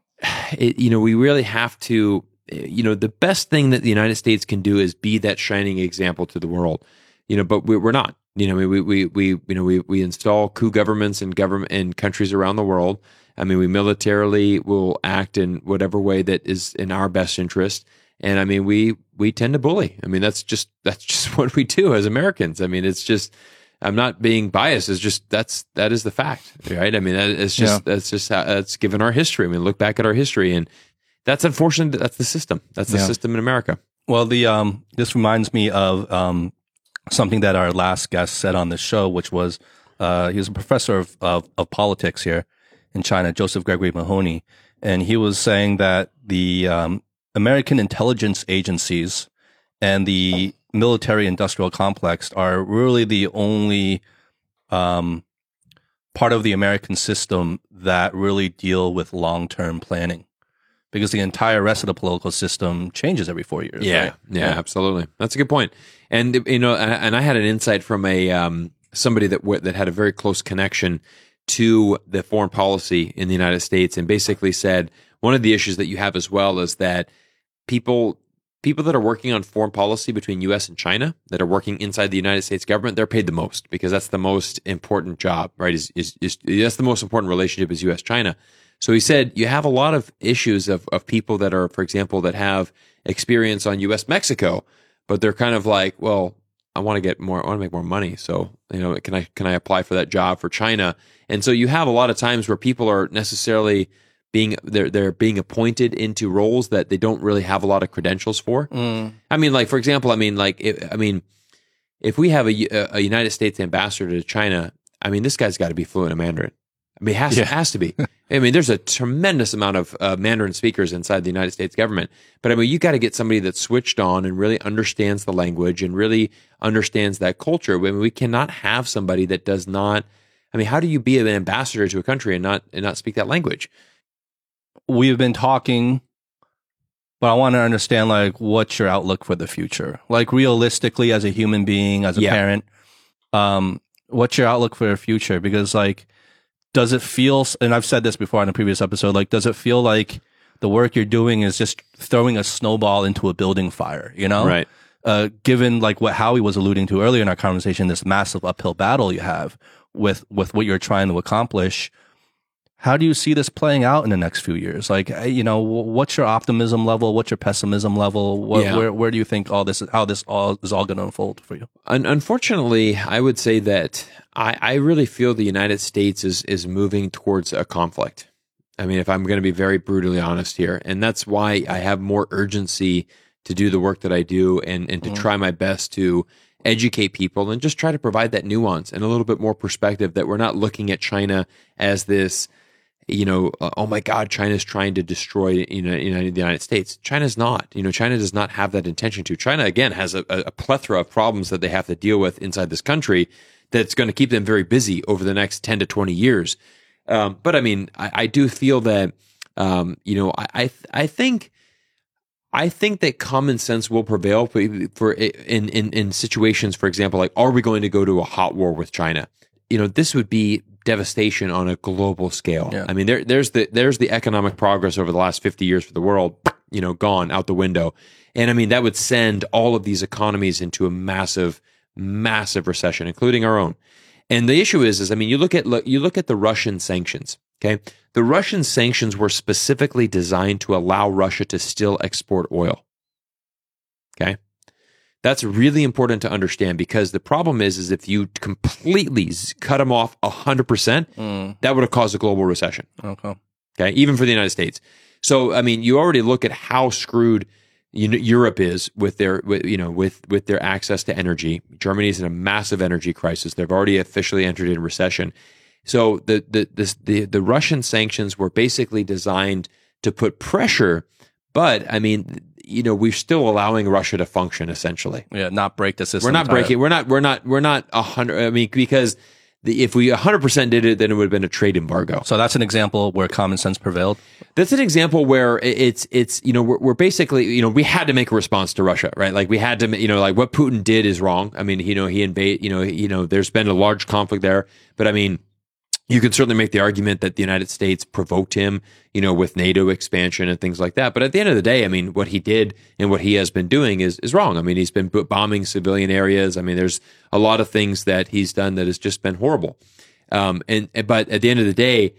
we really have to, the best thing that the United States can do is be that shining example to the world, but we're not, we install coup governments in countries around the world. We militarily will act in whatever way that is in our best interest. And we tend to bully. That's just what we do as Americans. It's just, I'm not being biased. It's just that is the fact, right? That's just how that's given our history. Look back at our history, and that's unfortunate. That's the system. That's the system in America. Well, this reminds me of something that our last guest said on this show, which was he was a professor of politics here in China, Joseph Gregory Mahoney, and he was saying that the American intelligence agencies and the military-industrial complex are really the only part of the American system that really deal with long-term planning, because the entire rest of the political system changes every 4 years. Yeah, right? Yeah, absolutely. That's a good point. And and I had an insight from somebody that had a very close connection to the foreign policy in the United States, and basically said one of the issues that you have as well is that people that are working on foreign policy between U.S. and China, that are working inside the United States government, they're paid the most because that's the most important job, right? That's the most important relationship is U.S.-China. So he said you have a lot of issues of people that are, for example, that have experience on U.S.-Mexico, but they're kind of like, well, I want to make more money. So, can I apply for that job for China? And so you have a lot of times where people are necessarily they're being appointed into roles that they don't really have a lot of credentials for. For example, if we have a United States ambassador to China, I mean, this guy's got to be fluent in Mandarin. I mean, it has to be. I mean, there's a tremendous amount of Mandarin speakers inside the United States government. But I mean, you got to get somebody that's switched on and really understands the language and really understands that culture. I mean, we cannot have somebody that does not. I mean, how do you be an ambassador to a country and not speak that language? We've been talking, but I want to understand, like, what's your outlook for the future? Like, realistically, as a human being, as a parent, what's your outlook for the future? Because, like, does it feel, and I've said this before in a previous episode, like, does it feel like the work you're doing is just throwing a snowball into a building fire, you know? Right. Given, like, what Howie was alluding to earlier in our conversation, this massive uphill battle you have with what you're trying to accomplish, how do you see this playing out in the next few years? Like, you know, what's your optimism level? What's your pessimism level? Where do you think how this all is going to unfold for you? Unfortunately, I would say that I really feel the United States is moving towards a conflict. I mean, if I'm going to be very brutally honest here, and that's why I have more urgency to do the work that I do and to try my best to educate people and just try to provide that nuance and a little bit more perspective, that we're not looking at China as this, you know, oh my God, China's trying to destroy, the United States. China's not. You know, China does not have that intention to. China, again, has a plethora of problems that they have to deal with inside this country that's going to keep them very busy over the next 10 to 20 years. But I mean, I do feel that, I think that common sense will prevail for in situations, for example, like, are we going to go to a hot war with China? You know, this would be devastation on a global scale. Yeah. I mean, there's the economic progress over the last 50 years for the world, you know, gone out the window. And I mean, that would send all of these economies into a massive, massive recession, including our own. And the issue is I mean, you look at the Russian sanctions. Okay, the Russian sanctions were specifically designed to allow Russia to still export oil. Okay, that's really important to understand, because the problem is if you completely cut them off 100%, that would have caused a global recession. Okay, even for the United States. So I mean, you already look at how screwed Europe is with their access to energy. Germany's in a massive energy crisis. They've already officially entered in recession. So the Russian sanctions were basically designed to put pressure, but I mean, you know, we're still allowing Russia to function essentially. Yeah, not break the system. We're not breaking. We're not 100. I mean, because if we 100% did it, then it would have been a trade embargo. So that's an example where common sense prevailed. That's an example where it's you know, we're basically, you know, we had to make a response to Russia, right? Like, we had to, you know, like, what Putin did is wrong. I mean, you know, he invaded. You know, there's been a large conflict there, but I mean, you could certainly make the argument that the United States provoked him, you know, with NATO expansion and things like that. But at the end of the day, I mean, what he did and what he has been doing is wrong. I mean, he's been bombing civilian areas. I mean, there's a lot of things that he's done that has just been horrible. But at the end of the day,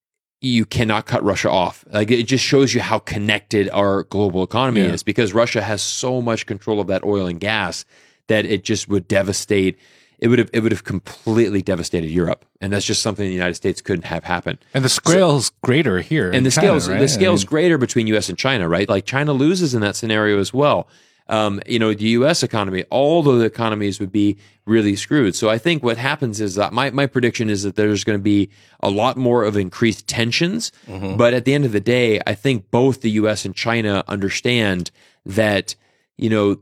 you cannot cut Russia off. Like, it just shows you how connected our global economy is, because Russia has so much control of that oil and gas that it just would devastate. It would have completely devastated Europe, and that's just something the United States couldn't have happen. And the scale's greater here, and the scale's greater between U.S. and China, right? Like, China loses in that scenario as well. You know, the U.S. economy, all the economies would be really screwed. So I think what happens is that my prediction is that there's going to be a lot more of increased tensions. Mm-hmm. But at the end of the day, I think both the U.S. and China understand that, you know,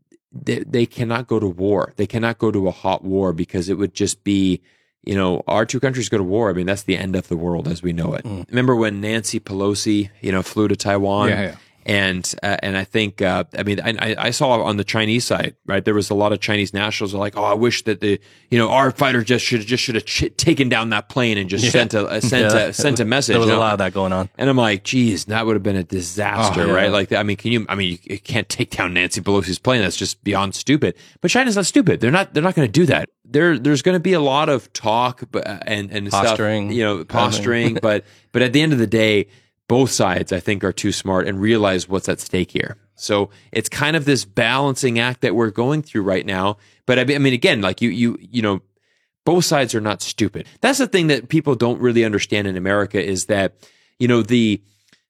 they cannot go to war. They cannot go to a hot war, because it would just be, you know, our two countries go to war. I mean, that's the end of the world as we know it. Remember when Nancy Pelosi, you know, flew to Taiwan? Yeah. And I think, I mean, I saw on the Chinese side, right, there was a lot of Chinese nationals who were like, oh, I wish that our fighter should have taken down that plane and just sent a message. There was a lot of that going on. And I'm like, geez, that would have been a disaster, right? Like, I mean, you can't take down Nancy Pelosi's plane. That's just beyond stupid. But China's not stupid. They're not going to do that. There's going to be a lot of talk and posturing, stuff, you know, posturing. but at the end of the day, both sides, I think, are too smart and realize what's at stake here. So it's kind of this balancing act that we're going through right now. But I mean, again, like you know, both sides are not stupid. That's the thing that people don't really understand in America, is that, you know, the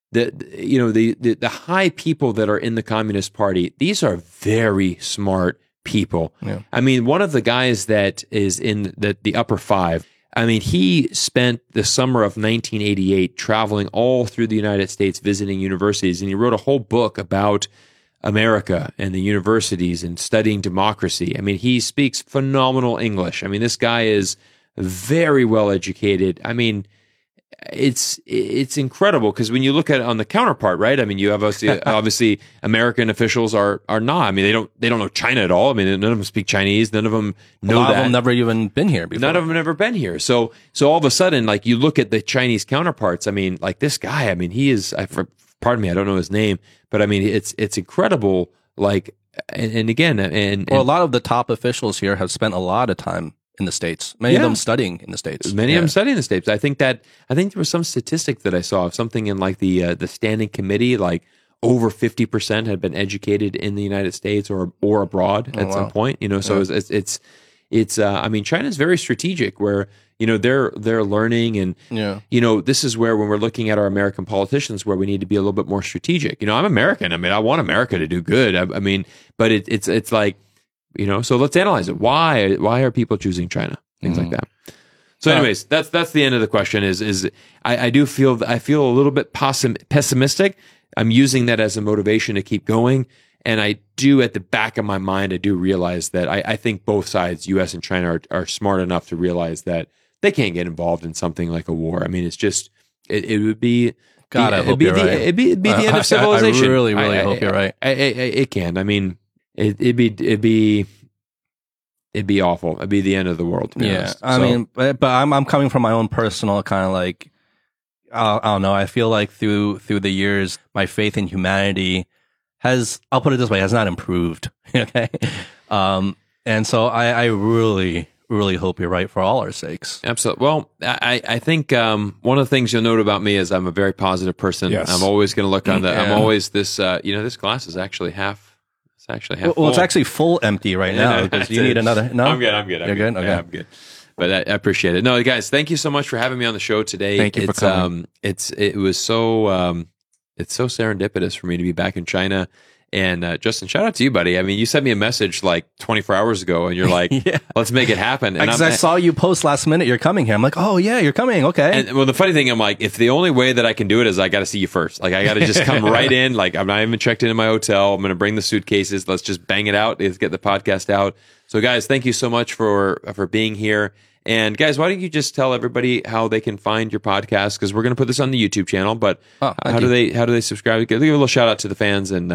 high people that are in the Communist Party, these are very smart people. Yeah. I mean, one of the guys that is in the upper five, I mean, he spent the summer of 1988 traveling all through the United States, visiting universities, and he wrote a whole book about America and the universities and studying democracy. I mean, he speaks phenomenal English. I mean, this guy is very well educated. I mean, it's incredible because when you look at it on the counterpart, right? I mean, you have obviously American officials are not. I mean, they don't know China at all. I mean, none of them speak Chinese. None of them know a lot that. of them never even been here before. None of them have ever been here. So all of a sudden, like you look at the Chinese counterparts. I mean, like this guy. I mean, he is. Pardon me, I don't know his name, but I mean, it's incredible. Like, and again, well, a lot of the top officials here have spent a lot of time in the States. Many of them studying in the States. Many of them studying in the States. I think there was some statistic that I saw of something in like the standing committee, like over 50% had been educated in the United States or abroad at some point. You know, so it's I mean, China's very strategic where, you know, they're learning and, you know, this is where when we're looking at our American politicians where we need to be a little bit more strategic. You know, I'm American. I mean, I want America to do good. I mean, but it's like, you know, so let's analyze it. Why are people choosing China? Things like that. So anyways, that's the end of the question is I feel a little bit pessimistic. I'm using that as a motivation to keep going. And I do, at the back of my mind, I do realize that I think both sides, U.S. and China, are smart enough to realize that they can't get involved in something like a war. I mean, it's just, it would be... God, I hope you're right. It'd be the end of civilization. I really hope you're right. It can. I mean, it'd be awful. It'd be the end of the world. To be honest. I mean, but I'm coming from my own personal kind of like, I don't know. I feel like through the years, my faith in humanity I'll put it this way, has not improved. Okay. And so I really, really hope you're right for all our sakes. Absolutely. Well, I think one of the things you'll note about me is I'm a very positive person. Yes. I'm always going to look on I'm always this, you know, this glass is actually half. It's actually half full. Well, it's actually full empty right now because you need another. No, I'm good. You're good? Okay. Yeah, I'm good. But I appreciate it. No, guys, thank you so much for having me on the show today. Thank you for coming. It was so it's so serendipitous for me to be back in China. And Justin, shout out to you, buddy. I mean, you sent me a message like 24 hours ago, and you're like, "Let's make it happen." And I saw you post last minute. You're coming here. I'm like, "Oh yeah, you're coming." Okay. And well, the funny thing, I'm like, if the only way that I can do it is I got to see you first. Like, I got to just come right in. Like, I'm not even checked into my hotel. I'm going to bring the suitcases. Let's just bang it out. Let's get the podcast out. So, guys, thank you so much for being here. And guys, why don't you just tell everybody how they can find your podcast? Because we're going to put this on the YouTube channel. But how do they subscribe? Give a little shout out to the fans and.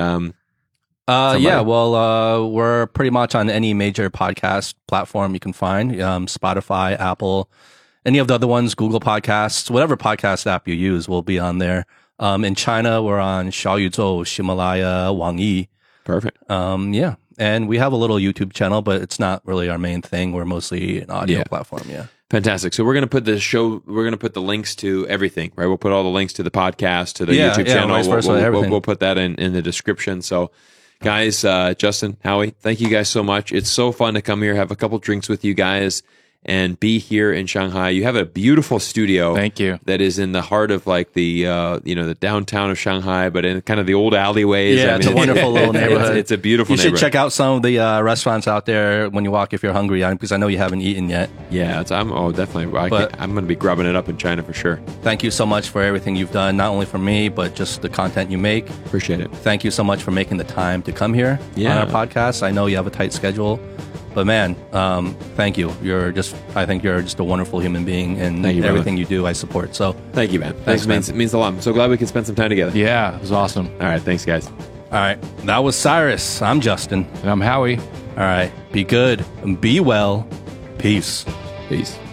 We're pretty much on any major podcast platform you can find. Spotify, Apple, any of the other ones, Google Podcasts, whatever podcast app you use will be on there. In China, we're on Xiaoyuzhou, Himalaya, Wang Yi. Perfect. And we have a little YouTube channel, but it's not really our main thing. We're mostly an audio platform. Yeah. Fantastic. So we're going to put we're going to put the links to everything, right? We'll put all the links to the podcast, to the YouTube channel. We'll put that in the description. So guys, Justin, Howie, thank you guys so much. It's so fun to come here, have a couple drinks with you guys, and be here in Shanghai. You have a beautiful studio. Thank you. That is in the heart of like the the downtown of Shanghai, but in kind of the old alleyways. Yeah, it's a wonderful little neighborhood. It's a beautiful neighborhood. You should check out some of the restaurants out there when you walk if you're hungry, because I know you haven't eaten yet. Yeah, definitely. I'm going to be grubbing it up in China for sure. Thank you so much for everything you've done, not only for me, but just the content you make. Appreciate it. Thank you so much for making the time to come here on our podcast. I know you have a tight schedule. But man, thank you. I think you're just a wonderful human being, and everything you do, I support. So thank you, man. Thanks, man. It means a lot. I'm so glad we could spend some time together. Yeah, it was awesome. All right, thanks, guys. All right, that was Cyrus. I'm Justin, and I'm Howie. All right, be good and be well. Peace. Peace.